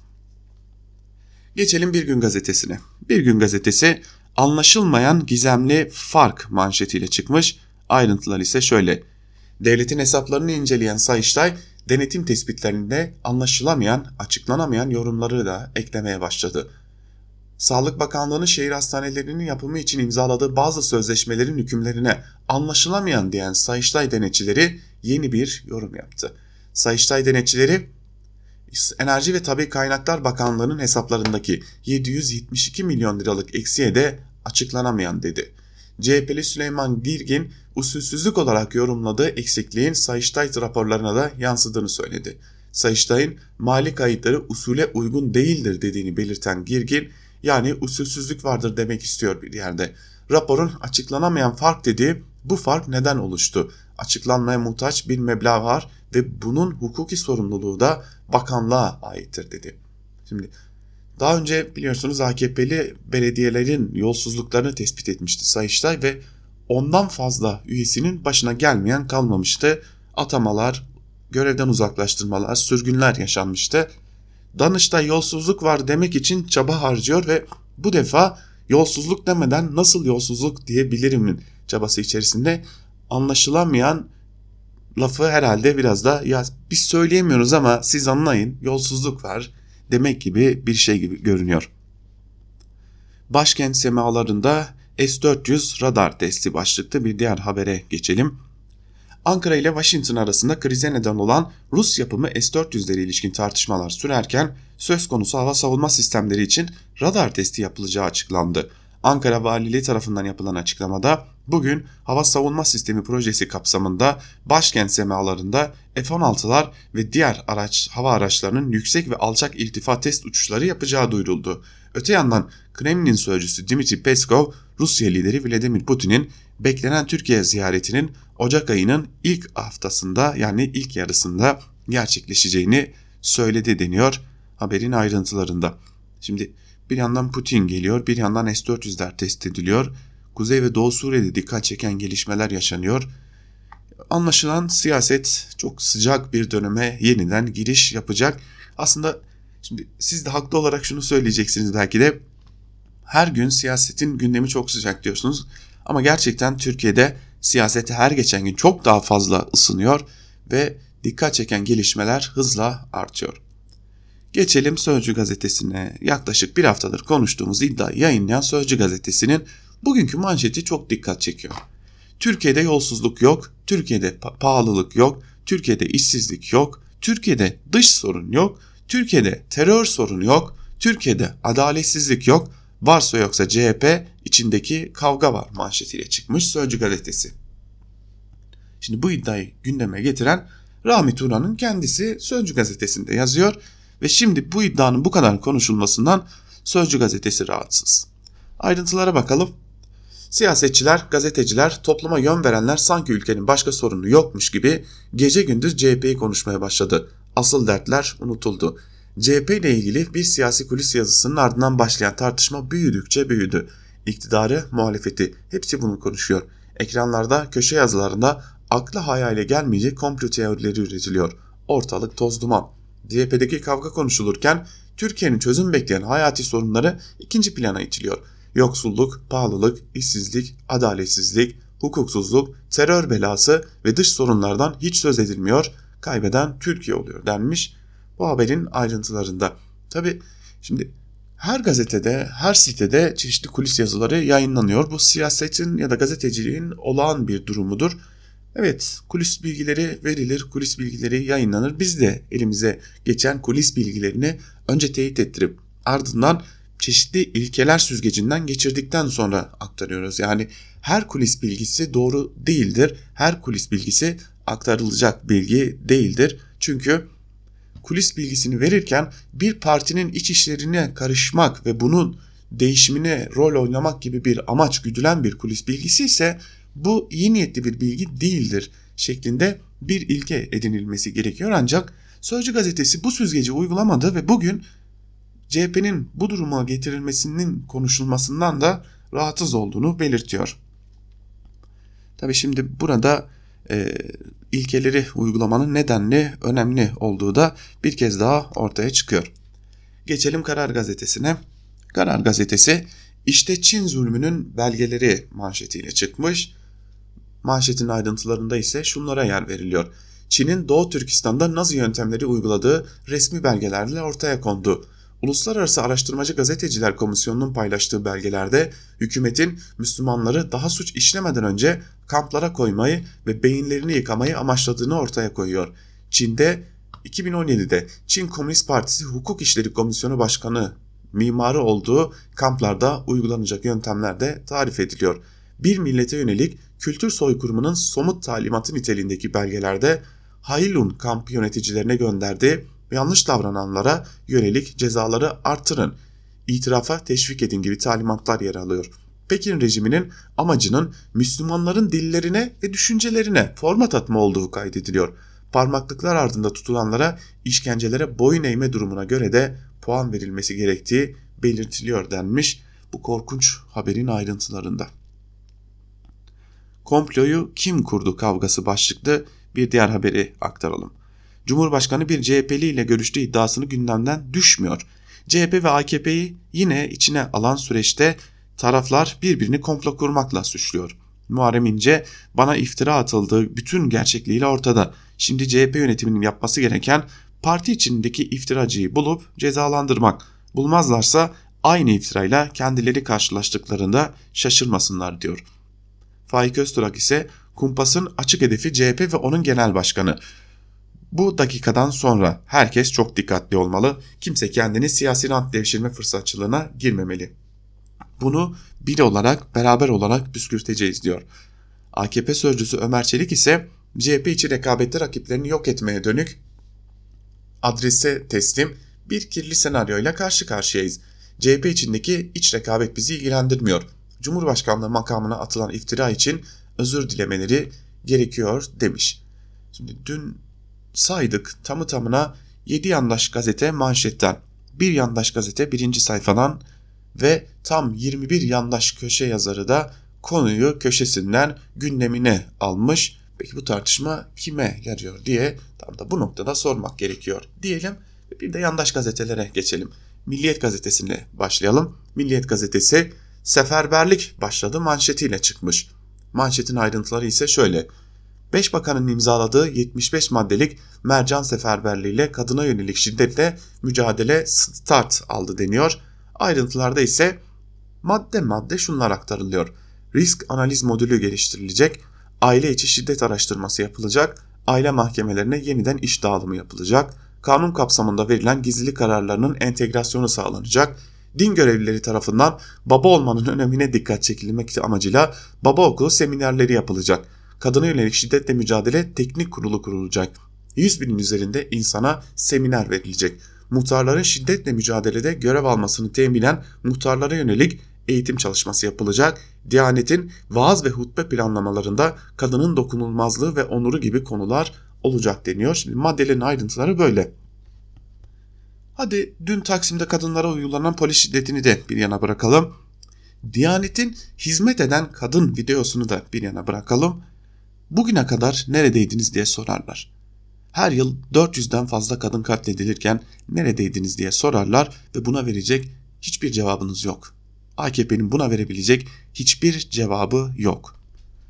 Geçelim Bir Gün Gazetesi'ne. Bir Gün Gazetesi anlaşılmayan gizemli fark manşetiyle çıkmış. Ayrıntılar ise şöyle. Devletin hesaplarını inceleyen Sayıştay, denetim tespitlerinde anlaşılamayan, açıklanamayan yorumları da eklemeye başladı. Sağlık Bakanlığı'nın şehir hastanelerinin yapımı için imzaladığı bazı sözleşmelerin hükümlerine anlaşılamayan diyen Sayıştay denetçileri yeni bir yorum yaptı. Sayıştay denetçileri, Enerji ve Tabii Kaynaklar Bakanlığı'nın hesaplarındaki 772 milyon liralık eksiğe de açıklanamayan dedi. CHP'li Süleyman Girgin, usulsüzlük olarak yorumladığı eksikliğin Sayıştay raporlarına da yansıdığını söyledi. Sayıştay'ın mali kayıtları usule uygun değildir dediğini belirten Girgin, yani usulsüzlük vardır demek istiyor bir yerde. Raporun açıklanamayan fark dediği bu fark neden oluştu? Açıklanmaya muhtaç bir meblağ var ve bunun hukuki sorumluluğu da bakanlığa aittir dedi. Şimdi daha önce biliyorsunuz AKP'li belediyelerin yolsuzluklarını tespit etmişti Sayıştay ve ondan fazla üyesinin başına gelmeyen kalmamıştı. Atamalar, görevden uzaklaştırmalar, sürgünler yaşanmıştı. Danıştay yolsuzluk var demek için çaba harcıyor ve bu defa yolsuzluk demeden nasıl yolsuzluk diyebilirimin çabası içerisinde. Anlaşılamayan lafı herhalde biraz da ya biz söyleyemiyoruz ama siz anlayın, yolsuzluk var demek gibi bir şey gibi görünüyor. Başkent semalarında S-400 radar testi başlıklı bir diğer habere geçelim. Ankara ile Washington arasında krize neden olan Rus yapımı S-400'lere ilişkin tartışmalar sürerken söz konusu hava savunma sistemleri için radar testi yapılacağı açıklandı. Ankara Valiliği tarafından yapılan açıklamada Bugün hava savunma sistemi projesi kapsamında başkent semalarında F-16'lar ve diğer hava araçlarının yüksek ve alçak irtifa test uçuşları yapacağı duyuruldu. Öte yandan Kremlin sözcüsü Dmitri Peskov, Rusya lideri Vladimir Putin'in beklenen Türkiye ziyaretinin Ocak ayının ilk haftasında, yani ilk yarısında gerçekleşeceğini söyledi deniyor haberin ayrıntılarında. Şimdi bir yandan Putin geliyor, bir yandan S-400'ler test ediliyor. Kuzey ve Doğu Suriye'de dikkat çeken gelişmeler yaşanıyor. Anlaşılan siyaset çok sıcak bir döneme yeniden giriş yapacak. Aslında şimdi siz de haklı olarak şunu söyleyeceksiniz belki de. Her gün siyasetin gündemi çok sıcak diyorsunuz. Ama gerçekten Türkiye'de siyaset her geçen gün çok daha fazla ısınıyor ve dikkat çeken gelişmeler hızla artıyor. Geçelim Sözcü gazetesine. Yaklaşık bir haftadır konuştuğumuz iddiayı yayınlayan Sözcü gazetesinin bugünkü manşeti çok dikkat çekiyor. Türkiye'de yolsuzluk yok, Türkiye'de pahalılık yok, Türkiye'de işsizlik yok, Türkiye'de dış sorun yok, Türkiye'de terör sorunu yok, Türkiye'de adaletsizlik yok, varsa yoksa CHP içindeki kavga var manşetiyle çıkmış Sözcü gazetesi. Şimdi bu iddiayı gündeme getiren Rahmi Turan'ın kendisi Sözcü gazetesinde yazıyor ve şimdi bu iddianın bu kadar konuşulmasından Sözcü gazetesi rahatsız. Ayrıntılara bakalım. Siyasetçiler, gazeteciler, topluma yön verenler sanki ülkenin başka sorunu yokmuş gibi gece gündüz CHP'yi konuşmaya başladı. Asıl dertler unutuldu. CHP ile ilgili bir siyasi kulis yazısının ardından başlayan tartışma büyüdükçe büyüdü. İktidarı, muhalefeti hepsi bunu konuşuyor. Ekranlarda, köşe yazılarında akla hayale gelmeyecek komplo teorileri üretiliyor. Ortalık toz duman. CHP'deki kavga konuşulurken Türkiye'nin çözüm bekleyen hayati sorunları ikinci plana itiliyor. Yoksulluk, pahalılık, işsizlik, adaletsizlik, hukuksuzluk, terör belası ve dış sorunlardan hiç söz edilmiyor. Kaybeden Türkiye oluyor denmiş bu haberin ayrıntılarında. Tabi şimdi her gazetede, her sitede çeşitli kulis yazıları yayınlanıyor. Bu siyasetin ya da gazeteciliğin olağan bir durumudur. Evet, kulis bilgileri verilir, kulis bilgileri yayınlanır. Biz de elimize geçen kulis bilgilerini önce teyit ettirip ardından çeşitli ilkeler süzgecinden geçirdikten sonra aktarıyoruz. Yani her kulis bilgisi doğru değildir. Her kulis bilgisi aktarılacak bilgi değildir. Çünkü kulis bilgisini verirken bir partinin iç işlerine karışmak ve bunun değişimine rol oynamak gibi bir amaç güdülen bir kulis bilgisi ise bu iyi niyetli bir bilgi değildir şeklinde bir ilke edinilmesi gerekiyor. Ancak Sözcü gazetesi bu süzgeci uygulamadı ve bugün CHP'nin bu duruma getirilmesinin konuşulmasından da rahatsız olduğunu belirtiyor. Tabii şimdi burada ilkeleri uygulamanın nedenli önemli olduğu da bir kez daha ortaya çıkıyor. Geçelim Karar Gazetesi'ne. Karar Gazetesi işte Çin zulmünün belgeleri manşetiyle çıkmış. Manşetin ayrıntılarında ise şunlara yer veriliyor. Çin'in Doğu Türkistan'da Nazi yöntemleri uyguladığı resmi belgelerle ortaya kondu. Uluslararası Araştırmacı Gazeteciler Komisyonu'nun paylaştığı belgelerde hükümetin Müslümanları daha suç işlemeden önce kamplara koymayı ve beyinlerini yıkamayı amaçladığını ortaya koyuyor. Çin'de 2017'de Çin Komünist Partisi Hukuk İşleri Komisyonu Başkanı mimarı olduğu kamplarda uygulanacak yöntemler de tarif ediliyor. Bir millete yönelik kültür soykırımının somut talimatı niteliğindeki belgelerde Hailun kamp yöneticilerine gönderdiği yanlış davrananlara yönelik cezaları artırın, itirafa teşvik edin gibi talimatlar yer alıyor. Pekin rejiminin amacının Müslümanların dillerine ve düşüncelerine format atma olduğu kaydediliyor. Parmaklıklar ardında tutulanlara işkencelere boyun eğme durumuna göre de puan verilmesi gerektiği belirtiliyor denmiş bu korkunç haberin ayrıntılarında. Komployu kim kurdu kavgası başlıklı bir diğer haberi aktaralım. Cumhurbaşkanı bir CHP'li ile görüştüğü iddiasını gündemden düşmüyor. CHP ve AKP'yi yine içine alan süreçte taraflar birbirini komplo kurmakla suçluyor. Muharrem İnce bana iftira atıldığı bütün gerçekliğiyle ortada. Şimdi CHP yönetiminin yapması gereken parti içindeki iftiracıyı bulup cezalandırmak. Bulmazlarsa aynı iftirayla kendileri karşılaştıklarında şaşırmasınlar diyor. Faik Öztürk ise kumpasın açık hedefi CHP ve onun genel başkanı. Bu dakikadan sonra herkes çok dikkatli olmalı. Kimse kendini siyasi rant devşirme fırsatçılığına girmemeli. Bunu bir olarak, beraber olarak püskürteceğiz diyor. AKP sözcüsü Ömer Çelik ise CHP içi rekabette rakiplerini yok etmeye dönük adrese teslim bir kirli senaryoyla karşı karşıyayız. CHP içindeki iç rekabet bizi ilgilendirmiyor. Cumhurbaşkanlığı makamına atılan iftira için özür dilemeleri gerekiyor demiş. Şimdi dün saydık tamı tamına 7 yandaş gazete manşetten, bir yandaş gazete birinci sayfadan ve tam 21 yandaş köşe yazarı da konuyu köşesinden gündemine almış. Peki bu tartışma kime yarıyor diye tam da bu noktada sormak gerekiyor diyelim. Bir de yandaş gazetelere geçelim. Milliyet gazetesiyle başlayalım. Milliyet gazetesi seferberlik başladı manşetiyle çıkmış. Manşetin ayrıntıları ise şöyle. 5 bakanın imzaladığı 75 maddelik mercan seferberliğiyle kadına yönelik şiddetle mücadele start aldı deniyor. Ayrıntılarda ise madde madde şunlar aktarılıyor. Risk analiz modülü geliştirilecek, aile içi şiddet araştırması yapılacak, aile mahkemelerine yeniden iş dağılımı yapılacak, kanun kapsamında verilen gizlilik kararlarının entegrasyonu sağlanacak, din görevlileri tarafından baba olmanın önemine dikkat çekilmek amacıyla baba okulu seminerleri yapılacak, kadına yönelik şiddetle mücadele teknik kurulu kurulacak, 100 binin üzerinde insana seminer verilecek, muhtarların şiddetle mücadelede görev almasını teminen muhtarlara yönelik eğitim çalışması yapılacak, Diyanet'in vaaz ve hutbe planlamalarında kadının dokunulmazlığı ve onuru gibi konular olacak deniyor. Şimdi maddelerin ayrıntıları böyle. Hadi dün Taksim'de kadınlara uygulanan polis şiddetini de bir yana bırakalım. Diyanet'in hizmet eden kadın videosunu da bir yana bırakalım. Bugüne kadar neredeydiniz diye sorarlar. Her yıl 400'den fazla kadın katledilirken neredeydiniz diye sorarlar ve buna verecek hiçbir cevabınız yok. AKP'nin buna verebilecek hiçbir cevabı yok.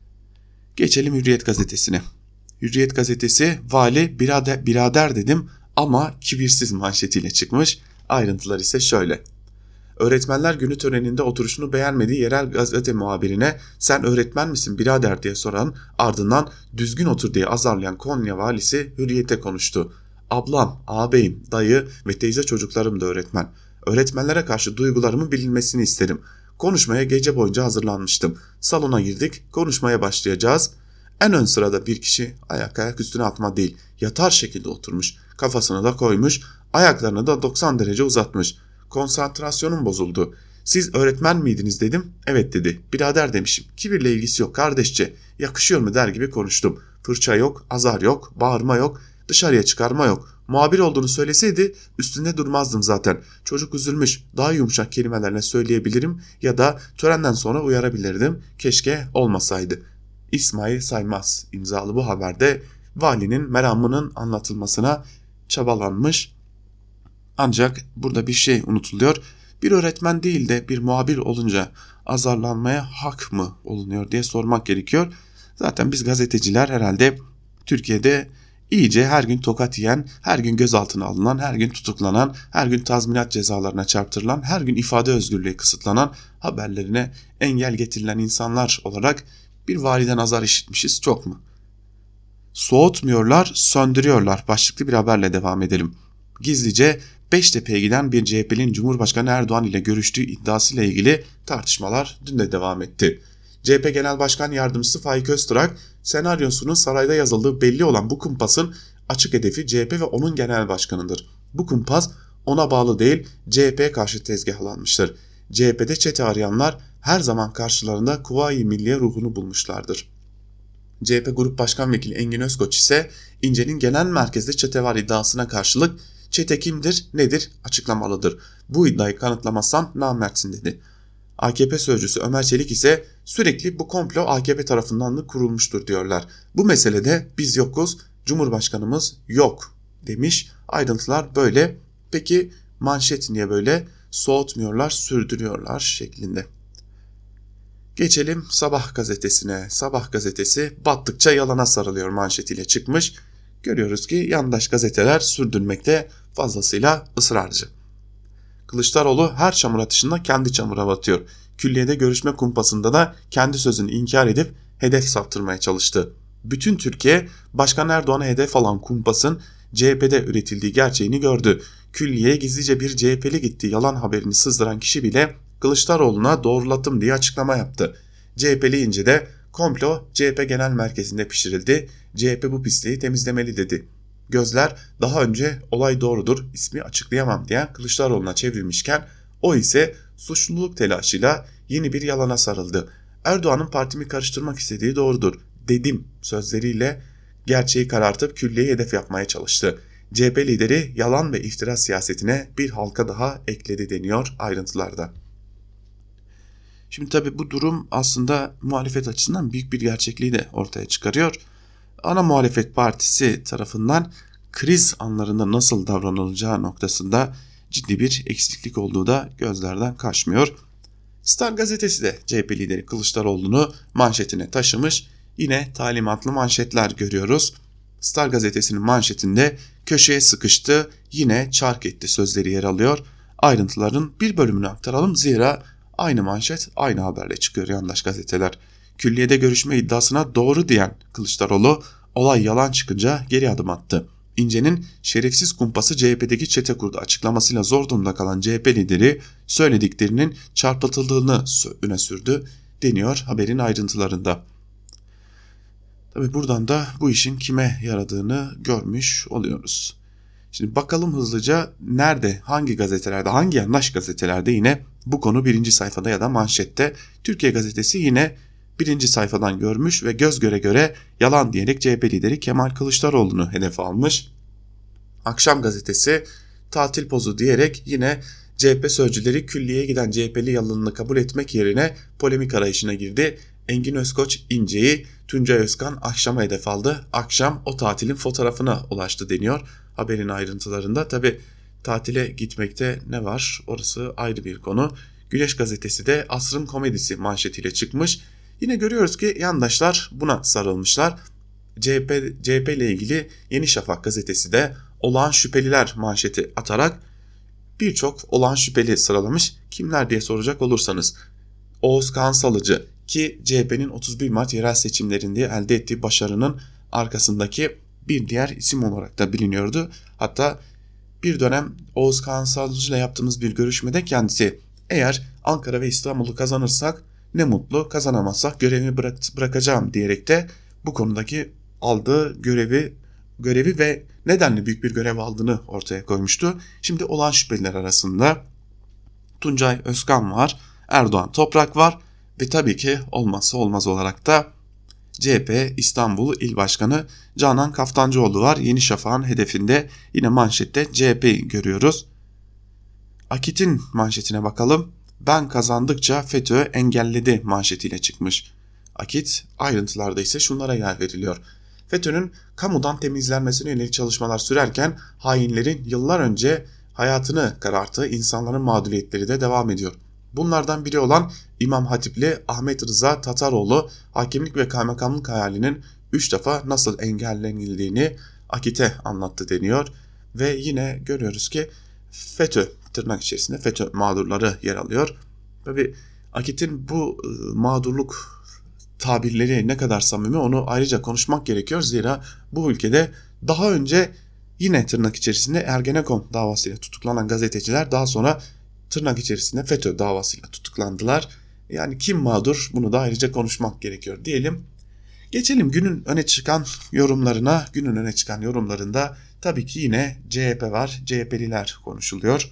Geçelim Hürriyet gazetesine. Hürriyet gazetesi vali birader dedim ama kibirsiz manşetiyle çıkmış. Ayrıntılar ise şöyle. Öğretmenler günü töreninde oturuşunu beğenmediği yerel gazete muhabirine sen öğretmen misin birader diye soran, ardından düzgün otur diye azarlayan Konya valisi Hürriyet'e konuştu. Ablam, ağabeyim, dayı ve teyze çocuklarım da öğretmen. Öğretmenlere karşı duygularımın bilinmesini isterim. Konuşmaya gece boyunca hazırlanmıştım. Salona girdik, konuşmaya başlayacağız. En ön sırada bir kişi ayak üstüne atma değil, yatar şekilde oturmuş. Kafasını da koymuş, ayaklarını da 90 derece uzatmış. Konsantrasyonum bozuldu. Siz öğretmen miydiniz dedim. Evet dedi. Birader demişim. Kibirle ilgisi yok kardeşçe. Yakışıyor mu der gibi konuştum. Fırça yok, azar yok, bağırma yok, dışarıya çıkarma yok. Muhabir olduğunu söyleseydi üstünde durmazdım zaten. Çocuk üzülmüş. Daha yumuşak kelimelerle söyleyebilirim ya da törenden sonra uyarabilirdim. Keşke olmasaydı. İsmail Saymaz imzalı bu haberde valinin meramının anlatılmasına çabalanmış. Ancak burada bir şey unutuluyor. Bir öğretmen değil de bir muhabir olunca azarlanmaya hak mı olunuyor diye sormak gerekiyor. Zaten biz gazeteciler herhalde Türkiye'de iyice her gün tokat yiyen, her gün gözaltına alınan, her gün tutuklanan, her gün tazminat cezalarına çarptırılan, her gün ifade özgürlüğü kısıtlanan, haberlerine engel getirilen insanlar olarak bir validen azar işitmişiz çok mu? Soğutmuyorlar, söndürüyorlar başlıklı bir haberle devam edelim. Gizlice Beştepe'ye giden bir CHP'nin Cumhurbaşkanı Erdoğan ile görüştüğü iddiasıyla ilgili tartışmalar dün de devam etti. CHP Genel Başkan Yardımcısı Faik Öztürk, senaryosunun sarayda yazıldığı belli olan bu kumpasın açık hedefi CHP ve onun genel başkanıdır. Bu kumpas ona bağlı değil, CHP'ye karşı tezgahlanmıştır. CHP'de çete arayanlar her zaman karşılarında Kuvayi Milliye ruhunu bulmuşlardır. CHP Grup Başkan Vekili Engin Özkoç ise İnce'nin genel merkezde çete var iddiasına karşılık çete kimdir, nedir açıklamalıdır. Bu iddiayı kanıtlamazsan namertsin dedi. AKP sözcüsü Ömer Çelik ise sürekli bu komplo AKP tarafından da kurulmuştur diyorlar. Bu meselede biz yokuz, Cumhurbaşkanımız yok demiş. Ayrıntılar böyle. Peki manşet niye böyle? Soğutmuyorlar, sürdürüyorlar şeklinde. Geçelim Sabah gazetesine. Sabah gazetesi battıkça yalana sarılıyor manşetiyle çıkmış. Görüyoruz ki yandaş gazeteler sürdürmekte fazlasıyla ısrarcı. Kılıçdaroğlu her çamur atışında kendi çamura batıyor. Külliyede görüşme kumpasında da kendi sözünü inkar edip hedef saptırmaya çalıştı. Bütün Türkiye Başkan Erdoğan'a hedef alan kumpasın CHP'de üretildiği gerçeğini gördü. Külliyeye gizlice bir CHP'li gitti yalan haberini sızdıran kişi bile Kılıçdaroğlu'na doğrulattım diye açıklama yaptı. CHP'li İnce de komplo CHP Genel Merkezi'nde pişirildi. CHP bu pisliği temizlemeli dedi. Gözler daha önce olay doğrudur, ismi açıklayamam diyen Kılıçdaroğlu'na çevrilmişken o ise suçluluk telaşıyla yeni bir yalana sarıldı. Erdoğan'ın partimi karıştırmak istediği doğrudur dedim sözleriyle gerçeği karartıp külliyeyi hedef yapmaya çalıştı. CHP lideri yalan ve iftira siyasetine bir halka daha ekledi deniyor ayrıntılarda. Şimdi tabii bu durum aslında muhalefet açısından büyük bir gerçekliği de ortaya çıkarıyor. Ana muhalefet partisi tarafından kriz anlarında nasıl davranılacağı noktasında ciddi bir eksiklik olduğu da gözlerden kaçmıyor. Star gazetesi de CHP lideri Kılıçdaroğlu'nu manşetine taşımış. Yine talimatlı manşetler görüyoruz. Star gazetesinin manşetinde köşeye sıkıştı, yine çark etti sözleri yer alıyor. Ayrıntıların bir bölümünü aktaralım zira aynı manşet aynı haberle çıkıyor yandaş gazeteler. Külliyede görüşme iddiasına doğru diyen Kılıçdaroğlu olay yalan çıkınca geri adım attı. İnce'nin şerefsiz kumpası CHP'deki çete kurdu açıklamasıyla zor durumda kalan CHP lideri söylediklerinin çarpıtıldığını öne sürdü deniyor haberin ayrıntılarında. Tabi buradan da bu işin kime yaradığını görmüş oluyoruz. Şimdi bakalım hızlıca nerede, hangi gazetelerde, hangi yandaş gazetelerde yine bu konu birinci sayfada ya da manşette. Türkiye Gazetesi yine birinci sayfadan görmüş ve göz göre göre yalan diyerek CHP lideri Kemal Kılıçdaroğlu'nu hedef almış. Akşam Gazetesi tatil pozu diyerek yine CHP sözcüleri külliyeye giden CHP'li yalanını kabul etmek yerine polemik arayışına girdi. Engin Özkoç İnce'yi, Tuncay Özkan Akşam'a hedef aldı. Akşam o tatilin fotoğrafına ulaştı deniyor haberin ayrıntılarında. Tabi tatile gitmekte ne var orası ayrı bir konu. Güneş Gazetesi de asrın komedisi manşetiyle çıkmış. Yine görüyoruz ki yandaşlar buna sarılmışlar. CHP ile ilgili Yeni Şafak gazetesi de olağan şüpheliler manşeti atarak birçok olağan şüpheli sıralamış. Kimler diye soracak olursanız Oğuz Kağan Salıcı ki CHP'nin 31 Mart yerel seçimlerinde elde ettiği başarının arkasındaki bir diğer isim olarak da biliniyordu. Hatta bir dönem Oğuz Kağan Salıcı ile yaptığımız bir görüşmede kendisi eğer Ankara ve İstanbul'u kazanırsak ne mutlu, kazanamazsak görevimi bırakacağım diyerek de bu konudaki aldığı görevi ve nedenle büyük bir görev aldığını ortaya koymuştu. Şimdi olan şüpheliler arasında Tuncay Özkan var, Erdoğan Toprak var ve tabii ki olmazsa olmaz olarak da CHP İstanbul İl Başkanı Canan Kaftancıoğlu var. Yeni Şafak'ın hedefinde yine manşette CHP'yi görüyoruz. Akit'in manşetine bakalım. Ben kazandıkça FETÖ engelledi manşetiyle çıkmış. Akit ayrıntılarda ise şunlara yer veriliyor. FETÖ'nün kamudan temizlenmesine yönelik çalışmalar sürerken hainlerin yıllar önce hayatını kararttığı insanların mağduriyetleri de devam ediyor. Bunlardan biri olan İmam Hatipli Ahmet Rıza Tataroğlu hakimlik ve kaymakamlık hayalinin 3 defa nasıl engellenildiğini Akit'e anlattı deniyor. Ve yine görüyoruz ki FETÖ tırnak içerisinde FETÖ mağdurları yer alıyor. Tabii Akit'in bu mağdurluk tabirleri ne kadar samimi onu ayrıca konuşmak gerekiyor. Zira bu ülkede daha önce yine tırnak içerisinde Ergenekon davasıyla tutuklanan gazeteciler daha sonra tırnak içerisinde FETÖ davasıyla tutuklandılar. Yani kim mağdur bunu da ayrıca konuşmak gerekiyor diyelim. Geçelim günün öne çıkan yorumlarına. Günün öne çıkan yorumlarında tabii ki yine CHP var. CHP'liler konuşuluyor.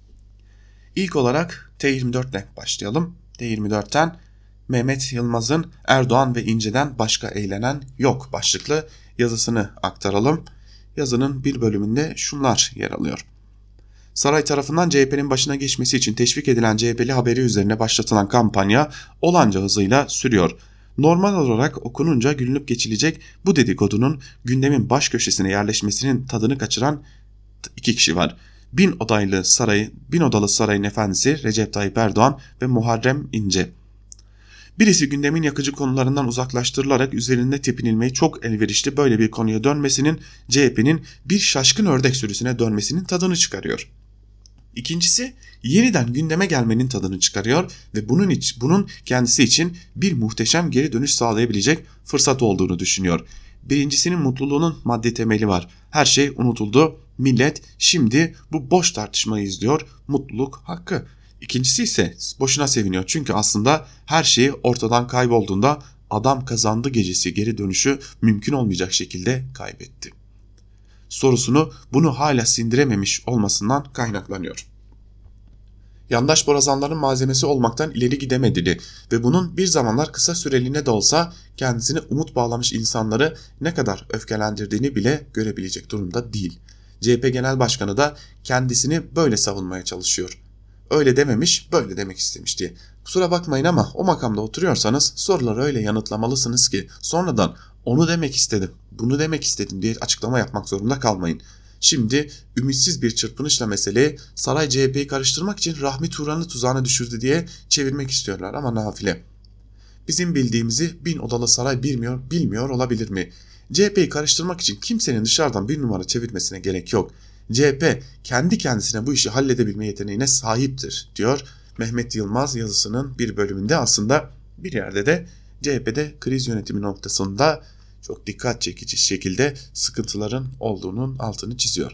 İlk olarak T24 ile başlayalım. T24'ten Mehmet Yılmaz'ın Erdoğan ve İnce'den başka eğlenen yok başlıklı yazısını aktaralım. Yazının bir bölümünde şunlar yer alıyor. Saray tarafından CHP'nin başına geçmesi için teşvik edilen CHP'li haberi üzerine başlatılan kampanya olanca hızıyla sürüyor. Normal olarak okununca gülünüp geçilecek bu dedikodunun gündemin baş köşesine yerleşmesinin tadını kaçıran iki kişi var. Bin odalı sarayın efendisi Recep Tayyip Erdoğan ve Muharrem İnce. Birisi gündemin yakıcı konularından uzaklaştırılarak üzerinde tepinilmeyi çok elverişli böyle bir konuya dönmesinin CHP'nin bir şaşkın ördek sürüsüne dönmesinin tadını çıkarıyor. İkincisi yeniden gündeme gelmenin tadını çıkarıyor ve bunun kendisi için bir muhteşem geri dönüş sağlayabilecek fırsat olduğunu düşünüyor. Birincisinin mutluluğunun maddi temeli var. Her şey unutuldu. Millet şimdi bu boş tartışmayı izliyor. Mutluluk hakkı. İkincisi ise boşuna seviniyor. Çünkü aslında her şeyi ortadan kaybolduğunda adam kazandı gecesi geri dönüşü mümkün olmayacak şekilde kaybetti. Sorusunu bunu hala sindirememiş olmasından kaynaklanıyor. Yandaş borazanların malzemesi olmaktan ileri gidemediğini ve bunun bir zamanlar kısa süreliğine de olsa kendisine umut bağlamış insanları ne kadar öfkelendirdiğini bile görebilecek durumda değil. CHP Genel Başkanı da kendisini böyle savunmaya çalışıyor. Öyle dememiş, böyle demek istemiş diye. Kusura bakmayın ama o makamda oturuyorsanız soruları öyle yanıtlamalısınız ki sonradan onu demek istedim, bunu demek istedim diye açıklama yapmak zorunda kalmayın. Şimdi ümitsiz bir çırpınışla meseleyi saray CHP'yi karıştırmak için Rahmi Turan'ı tuzağına düşürdü diye çevirmek istiyorlar ama nafile. Bizim bildiğimizi 1000 odalı saray bilmiyor olabilir mi? CHP'yi karıştırmak için kimsenin dışarıdan bir numara çevirmesine gerek yok. CHP kendi kendisine bu işi halledebilme yeteneğine sahiptir diyor Mehmet Yılmaz yazısının bir bölümünde. Aslında bir yerde de CHP'de kriz yönetimi noktasında çok dikkat çekici şekilde sıkıntıların olduğunun altını çiziyor.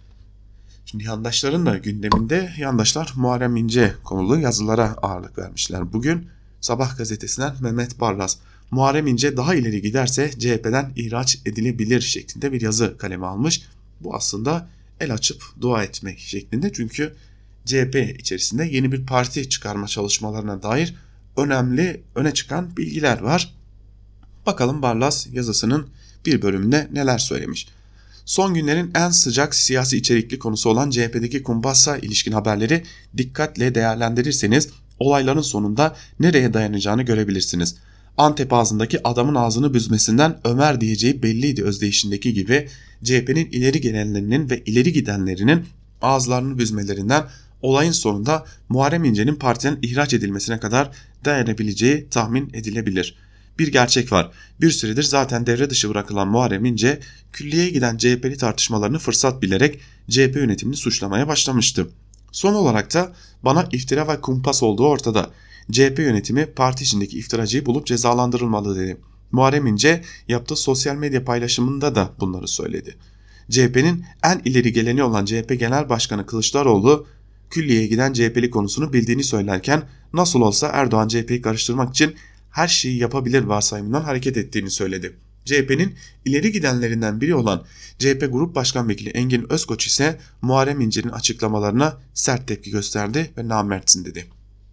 Şimdi yandaşların da gündeminde yandaşlar Muharrem İnce konulu yazılara ağırlık vermişler. Bugün Sabah gazetesinden Mehmet Barlas, Muharrem İnce daha ileri giderse CHP'den ihraç edilebilir şeklinde bir yazı kaleme almış. Bu aslında el açıp dua etmek şeklinde, çünkü CHP içerisinde yeni bir parti çıkarma çalışmalarına dair öne çıkan bilgiler var. Bakalım Barlas yazısının bir bölümünde neler söylemiş. Son günlerin en sıcak siyasi içerikli konusu olan CHP'deki kumpasla ilişkin haberleri dikkatle değerlendirirseniz olayların sonunda nereye dayanacağını görebilirsiniz. Antep ağzındaki adamın ağzını büzmesinden Ömer diyeceği belliydi özdeyişindeki gibi CHP'nin ileri gelenlerinin ve ileri gidenlerinin ağızlarını büzmelerinden olayın sonunda Muharrem İnce'nin partiden ihraç edilmesine kadar dayanabileceği tahmin edilebilir. Bir gerçek var. Bir süredir zaten devre dışı bırakılan Muharrem İnce, külliyeye giden CHP'li tartışmalarını fırsat bilerek CHP yönetimini suçlamaya başlamıştı. Son olarak da bana iftira ve kumpas olduğu ortada. CHP yönetimi parti içindeki iftiracıyı bulup cezalandırılmalı dedi. Muharrem İnce yaptığı sosyal medya paylaşımında da bunları söyledi. CHP'nin en ileri geleni olan CHP Genel Başkanı Kılıçdaroğlu, külliyeye giden CHP'li konusunu bildiğini söylerken nasıl olsa Erdoğan CHP'yi karıştırmak için her şeyi yapabilir varsayımından hareket ettiğini söyledi. CHP'nin ileri gidenlerinden biri olan CHP Grup Başkan Vekili Engin Özkoç ise Muharrem İnce'nin açıklamalarına sert tepki gösterdi ve namertsin dedi.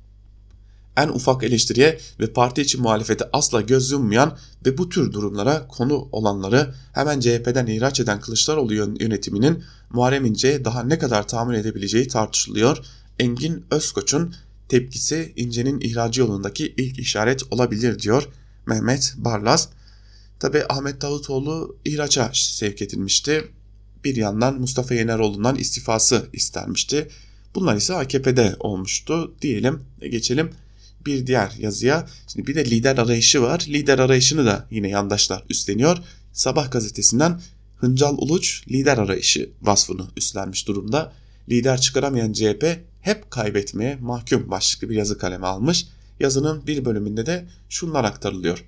En ufak eleştiriye ve parti içi muhalefete asla göz yummayan ve bu tür durumlara konu olanları hemen CHP'den ihraç eden Kılıçdaroğlu yönetiminin Muharrem İnce'ye daha ne kadar tahammül edebileceği tartışılıyor. Engin Özkoç'un tepkisi İnce'nin ihracı yolundaki ilk işaret olabilir diyor Mehmet Barlas. Tabi Ahmet Davutoğlu ihraca sevk edilmişti. Bir yandan Mustafa Yeneroğlu'ndan istifası istenmişti. Bunlar ise AKP'de olmuştu diyelim. Geçelim bir diğer yazıya. Şimdi bir de lider arayışı var. Lider arayışını da yine yandaşlar üstleniyor. Sabah gazetesinden Hıncal Uluç lider arayışı vasfını üstlenmiş durumda. Lider çıkaramayan CHP hep kaybetmeye mahkum başlıklı bir yazı kaleme almış. Yazının bir bölümünde de şunlar aktarılıyor.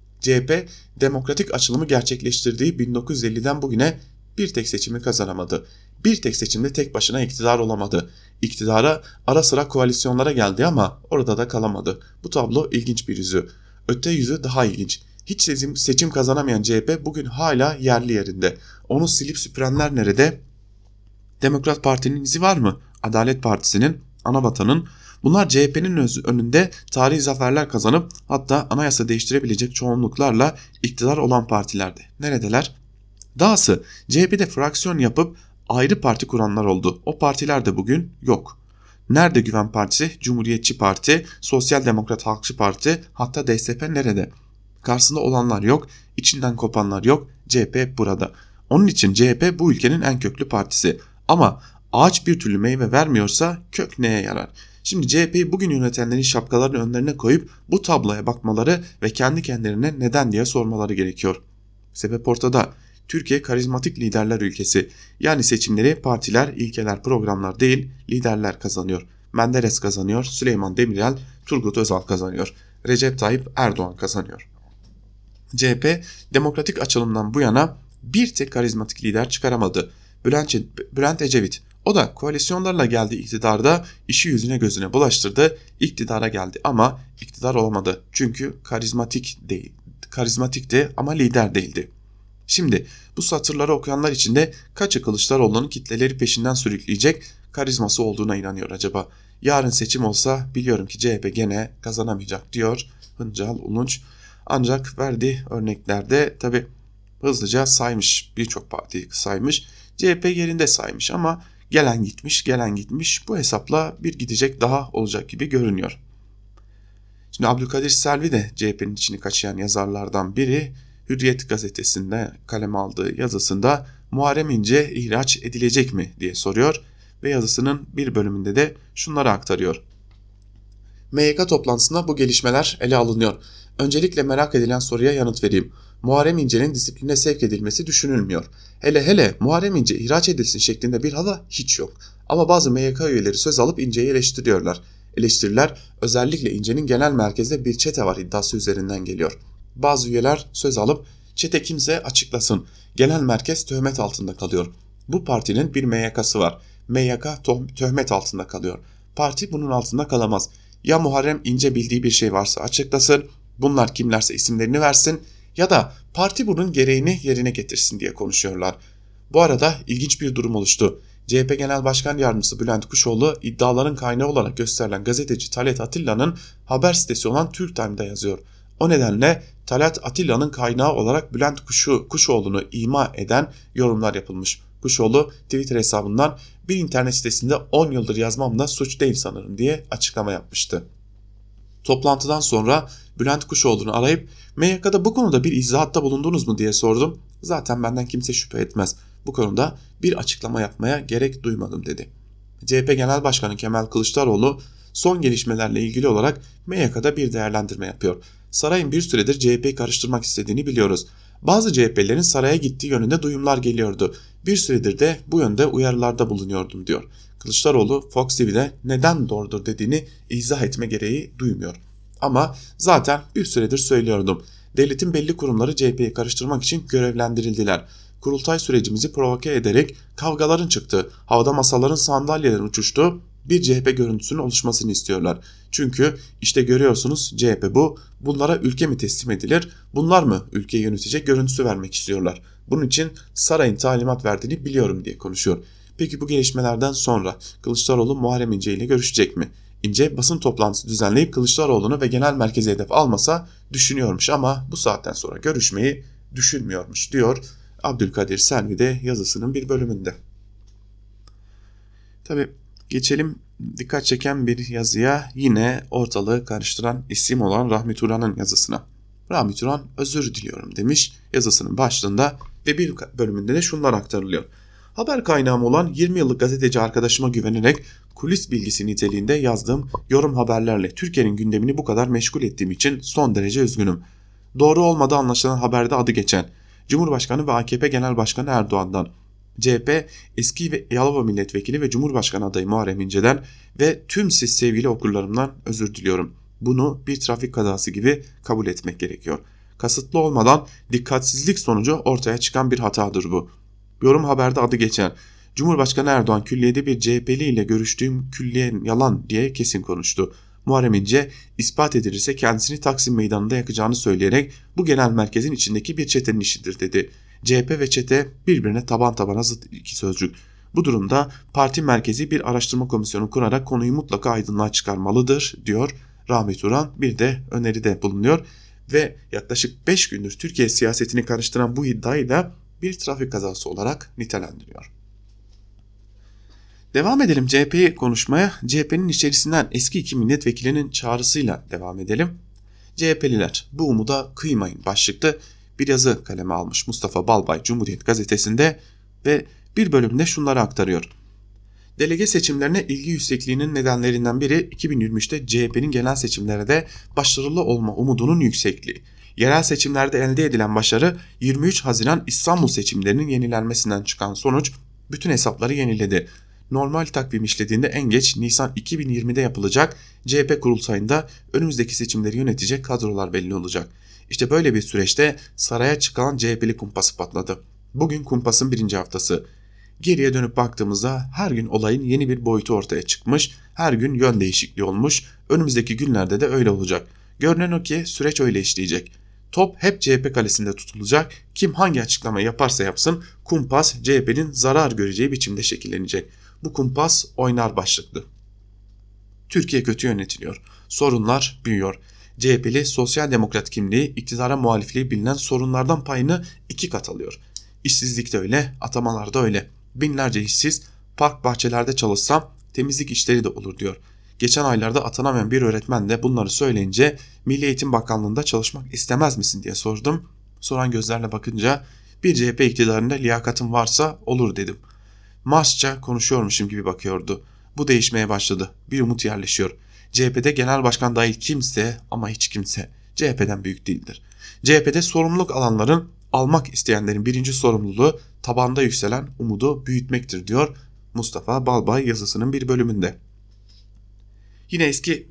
CHP demokratik açılımı gerçekleştirdiği 1950'den bugüne bir tek seçimi kazanamadı. Bir tek seçimde tek başına iktidar olamadı. İktidara ara sıra koalisyonlara geldi ama orada da kalamadı. Bu tablo ilginç bir yüzü. Öte yüzü daha ilginç. Hiç seçim kazanamayan CHP bugün hala yerli yerinde. Onu silip süpürenler nerede? Demokrat Parti'nin izi var mı? Adalet Partisi'nin, Anavatan'ın. Bunlar CHP'nin önünde tarihi zaferler kazanıp hatta anayasa değiştirebilecek çoğunluklarla iktidar olan partilerdi. Neredeler? Dahası CHP'de fraksiyon yapıp ayrı parti kuranlar oldu. O partiler de bugün yok. Nerede Güven Partisi, Cumhuriyetçi Parti, Sosyal Demokrat Halkçı Parti, hatta DSP nerede? Karşısında olanlar yok, içinden kopanlar yok. CHP burada. Onun için CHP bu ülkenin en köklü partisi. Ama ağaç bir türlü meyve vermiyorsa kök neye yarar? Şimdi CHP'yi bugün yönetenlerin şapkalarını önlerine koyup bu tabloya bakmaları ve kendi kendilerine neden diye sormaları gerekiyor. Sebep ortada. Türkiye karizmatik liderler ülkesi. Yani seçimleri partiler, ilkeler, programlar değil liderler kazanıyor. Menderes kazanıyor, Süleyman Demirel, Turgut Özal kazanıyor. Recep Tayyip Erdoğan kazanıyor. CHP demokratik açılımdan bu yana bir tek karizmatik lider çıkaramadı. Bülent Ecevit O da koalisyonlarla geldi iktidarda, işi yüzüne gözüne bulaştırdı, iktidara geldi ama iktidar olamadı. Çünkü karizmatikti ama lider değildi. Şimdi bu satırları okuyanlar içinde kaçı Kılıçdaroğlu'nun kitleleri peşinden sürükleyecek karizması olduğuna inanıyor acaba? Yarın seçim olsa biliyorum ki CHP gene kazanamayacak diyor Hıncal Ulunç. Ancak verdiği örneklerde tabi hızlıca saymış, birçok partiyi saymış. CHP yerinde saymış ama gelen gitmiş, bu hesapla bir gidecek daha olacak gibi görünüyor. Şimdi Abdülkadir Selvi de CHP'nin içini kaşıyan yazarlardan biri. Hürriyet gazetesinde kaleme aldığı yazısında Muharrem İnce ihraç edilecek mi diye soruyor ve yazısının bir bölümünde de şunları aktarıyor. MYK toplantısında bu gelişmeler ele alınıyor. Öncelikle merak edilen soruya yanıt vereyim. Muharrem İnce'nin disipline sevk edilmesi düşünülmüyor. Hele Muharrem İnce ihraç edilsin şeklinde bir hava hiç yok. Ama bazı MYK üyeleri söz alıp İnce'yi eleştiriyorlar. Eleştiriler özellikle İnce'nin genel merkezde bir çete var iddiası üzerinden geliyor. Bazı üyeler söz alıp çete kimse açıklasın. Genel merkez töhmet altında kalıyor. Bu partinin bir MYK'sı var. MYK töhmet altında kalıyor. Parti bunun altında kalamaz. Ya Muharrem İnce bildiği bir şey varsa açıklasın, bunlar kimlerse isimlerini versin ya da parti bunun gereğini yerine getirsin diye konuşuyorlar. Bu arada ilginç bir durum oluştu. CHP Genel Başkan Yardımcısı Bülent Kuşoğlu iddiaların kaynağı olarak gösterilen gazeteci Talat Atilla'nın haber sitesi olan Türktime'da yazıyor. O nedenle Talat Atilla'nın kaynağı olarak Bülent Kuşoğlu'nu ima eden yorumlar yapılmış. Kuşoğlu Twitter hesabından bir internet sitesinde 10 yıldır yazmam da suç değil sanırım diye açıklama yapmıştı. Toplantıdan sonra Bülent Kuşoğlu'nu arayıp MYK'da bu konuda bir izahatta bulundunuz mu diye sordum. Zaten benden kimse şüphe etmez. Bu konuda bir açıklama yapmaya gerek duymadım dedi. CHP Genel Başkanı Kemal Kılıçdaroğlu son gelişmelerle ilgili olarak MYK'da bir değerlendirme yapıyor. Sarayın bir süredir CHP'yi karıştırmak istediğini biliyoruz. Bazı CHP'lerin saraya gittiği yönünde duyumlar geliyordu. Bir süredir de bu yönde uyarılarda bulunuyordum diyor. Kılıçdaroğlu Fox TV'de neden doğrudur dediğini izah etme gereği duymuyor. Ama zaten bir süredir söylüyordum. Devletin belli kurumları CHP'yi karıştırmak için görevlendirildiler. Kurultay sürecimizi provoke ederek kavgaların çıktığı, havada masaların sandalyelerin uçuştuğu bir CHP görüntüsünün oluşmasını istiyorlar. Çünkü işte görüyorsunuz CHP bu. Bunlara ülke mi teslim edilir? Bunlar mı ülkeyi yönetecek görüntüsü vermek istiyorlar? Bunun için sarayın talimat verdiğini biliyorum diye konuşuyor. Peki bu gelişmelerden sonra Kılıçdaroğlu Muharrem İnce ile görüşecek mi? İnce basın toplantısı düzenleyip Kılıçdaroğlu'nu ve genel merkeze hedef almasa düşünüyormuş ama bu saatten sonra görüşmeyi düşünmüyormuş diyor Abdülkadir Selvi de yazısının bir bölümünde. Tabii geçelim dikkat çeken bir yazıya, yine ortalığı karıştıran isim olan Rahmi Turan'ın yazısına. Rahmi Turan özür diliyorum demiş yazısının başlığında ve bir bölümünde de şunlar aktarılıyor. Haber kaynağım olan 20 yıllık gazeteci arkadaşıma güvenerek kulis bilgisi niteliğinde yazdığım yorum haberlerle Türkiye'nin gündemini bu kadar meşgul ettiğim için son derece üzgünüm. Doğru olmadığı anlaşılan haberde adı geçen Cumhurbaşkanı ve AKP Genel Başkanı Erdoğan'dan, CHP eski ve Yalova Milletvekili ve Cumhurbaşkanı adayı Muharrem İnce'den ve tüm siz sevgili okurlarımdan özür diliyorum. Bunu bir trafik kazası gibi kabul etmek gerekiyor. Kasıtlı olmadan dikkatsizlik sonucu ortaya çıkan bir hatadır bu. Yorum haberde adı geçen Cumhurbaşkanı Erdoğan külliyede bir CHP'li ile görüştüğüm külliyen yalan diye kesin konuştu. Muharrem İnce ispat edilirse kendisini Taksim Meydanı'nda yakacağını söyleyerek bu genel merkezin içindeki bir çetenin işidir dedi. CHP ve çete birbirine taban tabana zıt iki sözcük. Bu durumda parti merkezi bir araştırma komisyonu kurarak konuyu mutlaka aydınlığa çıkarmalıdır diyor Rahmi Turan. Bir de öneride bulunuyor ve yaklaşık 5 gündür Türkiye siyasetini karıştıran bu iddiayı da bir trafik kazası olarak nitelendiriyor. Devam edelim CHP'yi konuşmaya. CHP'nin içerisinden eski iki milletvekilinin çağrısıyla devam edelim. CHP'liler bu umuda kıymayın başlıklı bir yazı kaleme almış Mustafa Balbay Cumhuriyet gazetesinde ve bir bölümde şunları aktarıyor. Delege seçimlerine ilgi yüksekliğinin nedenlerinden biri 2023'te CHP'nin genel seçimlerde başarılı olma umudunun yüksekliği. Yerel seçimlerde elde edilen başarı 23 Haziran İstanbul seçimlerinin yenilenmesinden çıkan sonuç bütün hesapları yeniledi. Normal takvim işlediğinde en geç Nisan 2020'de yapılacak CHP kurultayında önümüzdeki seçimleri yönetecek kadrolar belli olacak. İşte böyle bir süreçte saraya çıkan CHP'li kumpası patladı. Bugün kumpasın birinci haftası. Geriye dönüp baktığımızda her gün olayın yeni bir boyutu ortaya çıkmış, her gün yön değişikliği olmuş, önümüzdeki günlerde de öyle olacak. Görünen o ki süreç öyle işleyecek. Top hep CHP kalesinde tutulacak, kim hangi açıklama yaparsa yapsın kumpas CHP'nin zarar göreceği biçimde şekillenecek. Bu kumpas oynar başlıklı. Türkiye kötü yönetiliyor, sorunlar büyüyor. CHP'li sosyal demokrat kimliği iktidara muhalifliği bilinen sorunlardan payını 2 kat alıyor. İşsizlik de öyle, atamalar da öyle. Binlerce işsiz, park bahçelerde çalışsam temizlik işleri de olur diyor. Geçen aylarda atanamayan bir öğretmen de bunları söyleyince Milli Eğitim Bakanlığı'nda çalışmak istemez misin diye sordum. Soran gözlerle bakınca bir CHP iktidarında liyakatım varsa olur dedim. Marsça konuşuyormuşum gibi bakıyordu. Bu değişmeye başladı. Bir umut yerleşiyor. CHP'de genel başkan dahil kimse ama hiç kimse CHP'den büyük değildir. CHP'de sorumluluk alanların almak isteyenlerin birinci sorumluluğu tabanda yükselen umudu büyütmektir diyor Mustafa Balbay yazısının bir bölümünde. Yine eski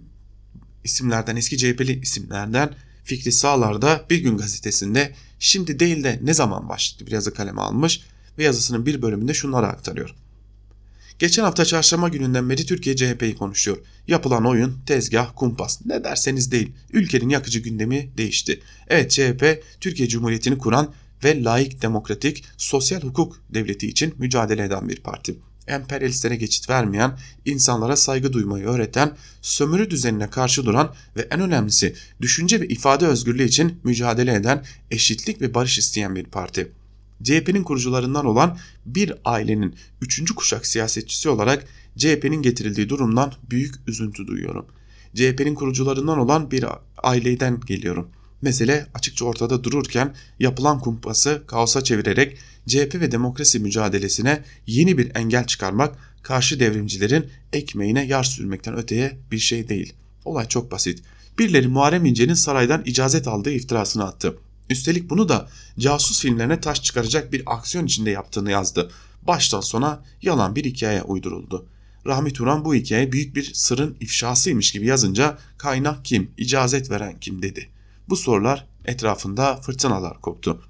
CHP'li isimlerden Fikri Sağlar da Bir Gün gazetesinde şimdi değil de ne zaman başladı bir yazı kaleme almış ve yazısının bir bölümünde şunları aktarıyor. Geçen hafta çarşamba gününden beri Türkiye CHP'yi konuşuyor. Yapılan oyun, tezgah, kumpas ne derseniz değil. Ülkenin yakıcı gündemi değişti. Evet, CHP Türkiye Cumhuriyeti'ni kuran ve laik, demokratik, sosyal hukuk devleti için mücadele eden bir parti. Emperyalistlere geçit vermeyen, insanlara saygı duymayı öğreten, sömürü düzenine karşı duran ve en önemlisi düşünce ve ifade özgürlüğü için mücadele eden, eşitlik ve barış isteyen bir parti. CHP'nin kurucularından olan bir ailenin 3. kuşak siyasetçisi olarak CHP'nin getirildiği durumdan büyük üzüntü duyuyorum. CHP'nin kurucularından olan bir aileden geliyorum. Mesele açıkça ortada dururken yapılan kumpası kaosa çevirerek CHP ve demokrasi mücadelesine yeni bir engel çıkarmak karşı devrimcilerin ekmeğine yağ sürmekten öteye bir şey değil. Olay çok basit. Birileri Muharrem İnce'nin saraydan icazet aldığı iftirasını attı. Üstelik bunu da casus filmlerine taş çıkaracak bir aksiyon içinde yaptığını yazdı. Baştan sona yalan bir hikaye uyduruldu. Rahmi Turan bu hikaye büyük bir sırrın ifşasıymış gibi yazınca kaynak kim, icazet veren kim dedi. Bu sorular etrafında fırtınalar koptu.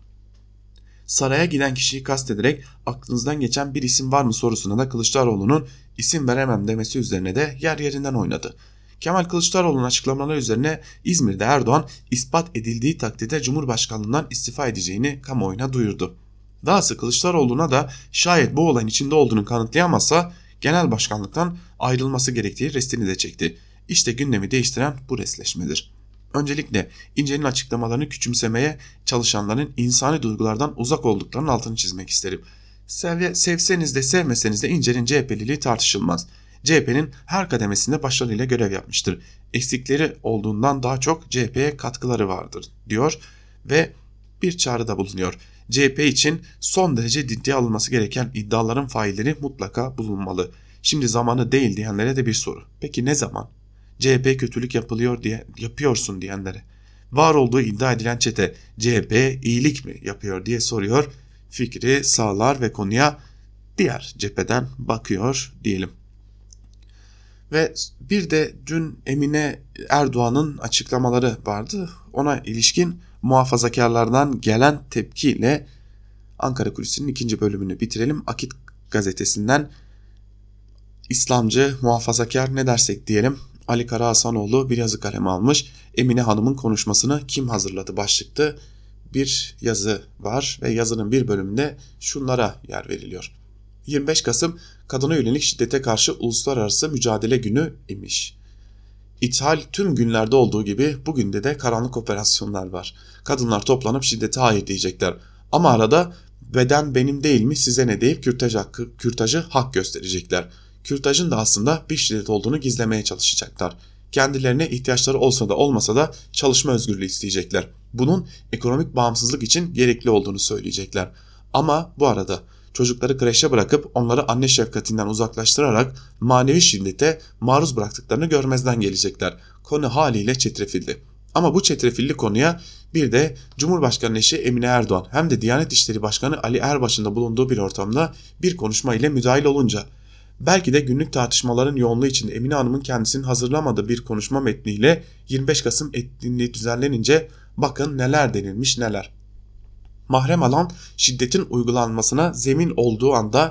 Saraya giden kişiyi kastederek aklınızdan geçen bir isim var mı sorusuna da Kılıçdaroğlu'nun isim veremem demesi üzerine de yer yerinden oynadı. Kemal Kılıçdaroğlu'nun açıklamaları üzerine İzmir'de Erdoğan ispat edildiği takdirde Cumhurbaşkanlığından istifa edeceğini kamuoyuna duyurdu. Dahası Kılıçdaroğlu'na da şayet bu olayın içinde olduğunu kanıtlayamazsa genel başkanlıktan ayrılması gerektiği restini de çekti. İşte gündemi değiştiren bu resleşmedir. Öncelikle İnce'nin açıklamalarını küçümsemeye çalışanların insani duygulardan uzak olduklarının altını çizmek isterim. Sevseniz de sevmeseniz de İnce'nin CHP'liliği tartışılmaz. CHP'nin her kademesinde başarıyla görev yapmıştır. Eksikleri olduğundan daha çok CHP'ye katkıları vardır diyor ve bir çağrıda bulunuyor. CHP için son derece ciddiye alınması gereken iddiaların failleri mutlaka bulunmalı. Şimdi zamanı değil diyenlere de bir soru. Peki ne zaman? CHP kötülük yapıyorsun diyenlere. Var olduğu iddia edilen çete CHP iyilik mi yapıyor diye soruyor. Fikri Sağlar ve konuya diğer cepheden bakıyor diyelim. Ve bir de dün Emine Erdoğan'ın açıklamaları vardı. Ona ilişkin muhafazakarlardan gelen tepkiyle Ankara Kulisi'nin 2. bölümünü bitirelim. Akit gazetesinden İslamcı, muhafazakar ne dersek diyelim Ali Karahasanoğlu bir yazı kaleme almış. Emine Hanım'ın konuşmasını kim hazırladı başlıklı bir yazı var ve yazının bir bölümünde şunlara yer veriliyor. 25 Kasım kadına yönelik şiddete karşı uluslararası mücadele günü imiş. İthal tüm günlerde olduğu gibi bugün de karanlık operasyonlar var. Kadınlar toplanıp şiddete hayır diyecekler. Ama arada beden benim değil mi size ne deyip kürtajı hak gösterecekler. Kürtajın da aslında bir şiddet olduğunu gizlemeye çalışacaklar. Kendilerine ihtiyaçları olsa da olmasa da çalışma özgürlüğü isteyecekler. Bunun ekonomik bağımsızlık için gerekli olduğunu söyleyecekler. Ama bu arada çocukları kreşe bırakıp onları anne şefkatinden uzaklaştırarak manevi şiddete maruz bıraktıklarını görmezden gelecekler. Konu haliyle çetrefilli. Ama bu çetrefilli konuya bir de Cumhurbaşkanı eşi Emine Erdoğan hem de Diyanet İşleri Başkanı Ali Erbaş'ın da bulunduğu bir ortamda bir konuşma ile müdahil olunca belki de günlük tartışmaların yoğunluğu içinde Emine Hanım'ın kendisinin hazırlamadığı bir konuşma metniyle 25 Kasım etkinliği düzenlenince bakın neler denilmiş neler. Mahrem alan şiddetin uygulanmasına zemin olduğu anda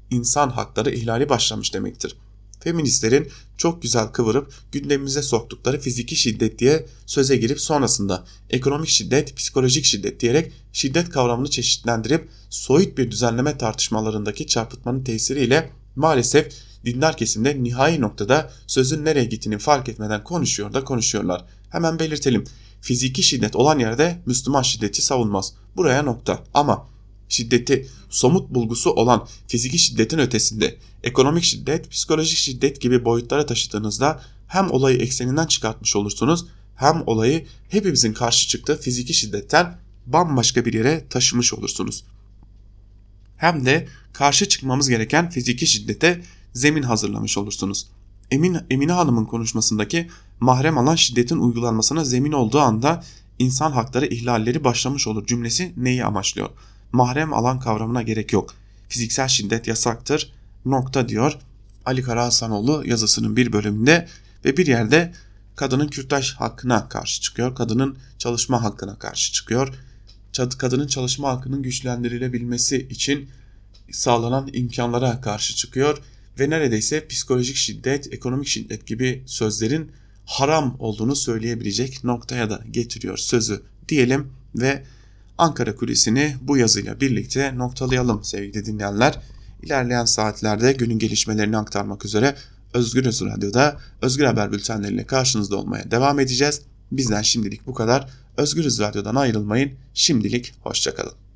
insan hakları ihlali başlamış demektir. Feministlerin çok güzel kıvırıp gündemimize soktukları fiziki şiddet diye söze girip sonrasında ekonomik şiddet, psikolojik şiddet diyerek şiddet kavramını çeşitlendirip soyut bir düzenleme tartışmalarındaki çarpıtmanın tesiriyle maalesef dindar kesimde nihai noktada sözün nereye gittiğini fark etmeden konuşuyorlar. Hemen belirtelim. Fiziki şiddet olan yerde Müslüman şiddeti savunmaz. Buraya nokta. Ama şiddeti somut bulgusu olan fiziki şiddetin ötesinde ekonomik şiddet, psikolojik şiddet gibi boyutlara taşıdığınızda hem olayı ekseninden çıkartmış olursunuz hem olayı hepimizin karşı çıktığı fiziki şiddetten bambaşka bir yere taşımış olursunuz. Hem de karşı çıkmamız gereken fiziki şiddete zemin hazırlamış olursunuz. Emine Hanım'ın konuşmasındaki mahrem alan şiddetin uygulanmasına zemin olduğu anda insan hakları ihlalleri başlamış olur cümlesi neyi amaçlıyor? Mahrem alan kavramına gerek yok. Fiziksel şiddet yasaktır. Nokta diyor Ali Karahasanoğlu yazısının bir bölümünde ve bir yerde kadının kürtaj hakkına karşı çıkıyor. Kadının çalışma hakkına karşı çıkıyor. Kadının çalışma hakkının güçlendirilebilmesi için sağlanan imkanlara karşı çıkıyor ve neredeyse psikolojik şiddet, ekonomik şiddet gibi sözlerin haram olduğunu söyleyebilecek noktaya da getiriyor sözü diyelim ve Ankara Kulisi'ni bu yazıyla birlikte noktalayalım sevgili dinleyenler. İlerleyen saatlerde günün gelişmelerini aktarmak üzere Özgürüz Radyo'da Özgür Haber bültenleriyle karşınızda olmaya devam edeceğiz. Bizden şimdilik bu kadar. Özgürüz Radyo'dan ayrılmayın. Şimdilik hoşça kalın.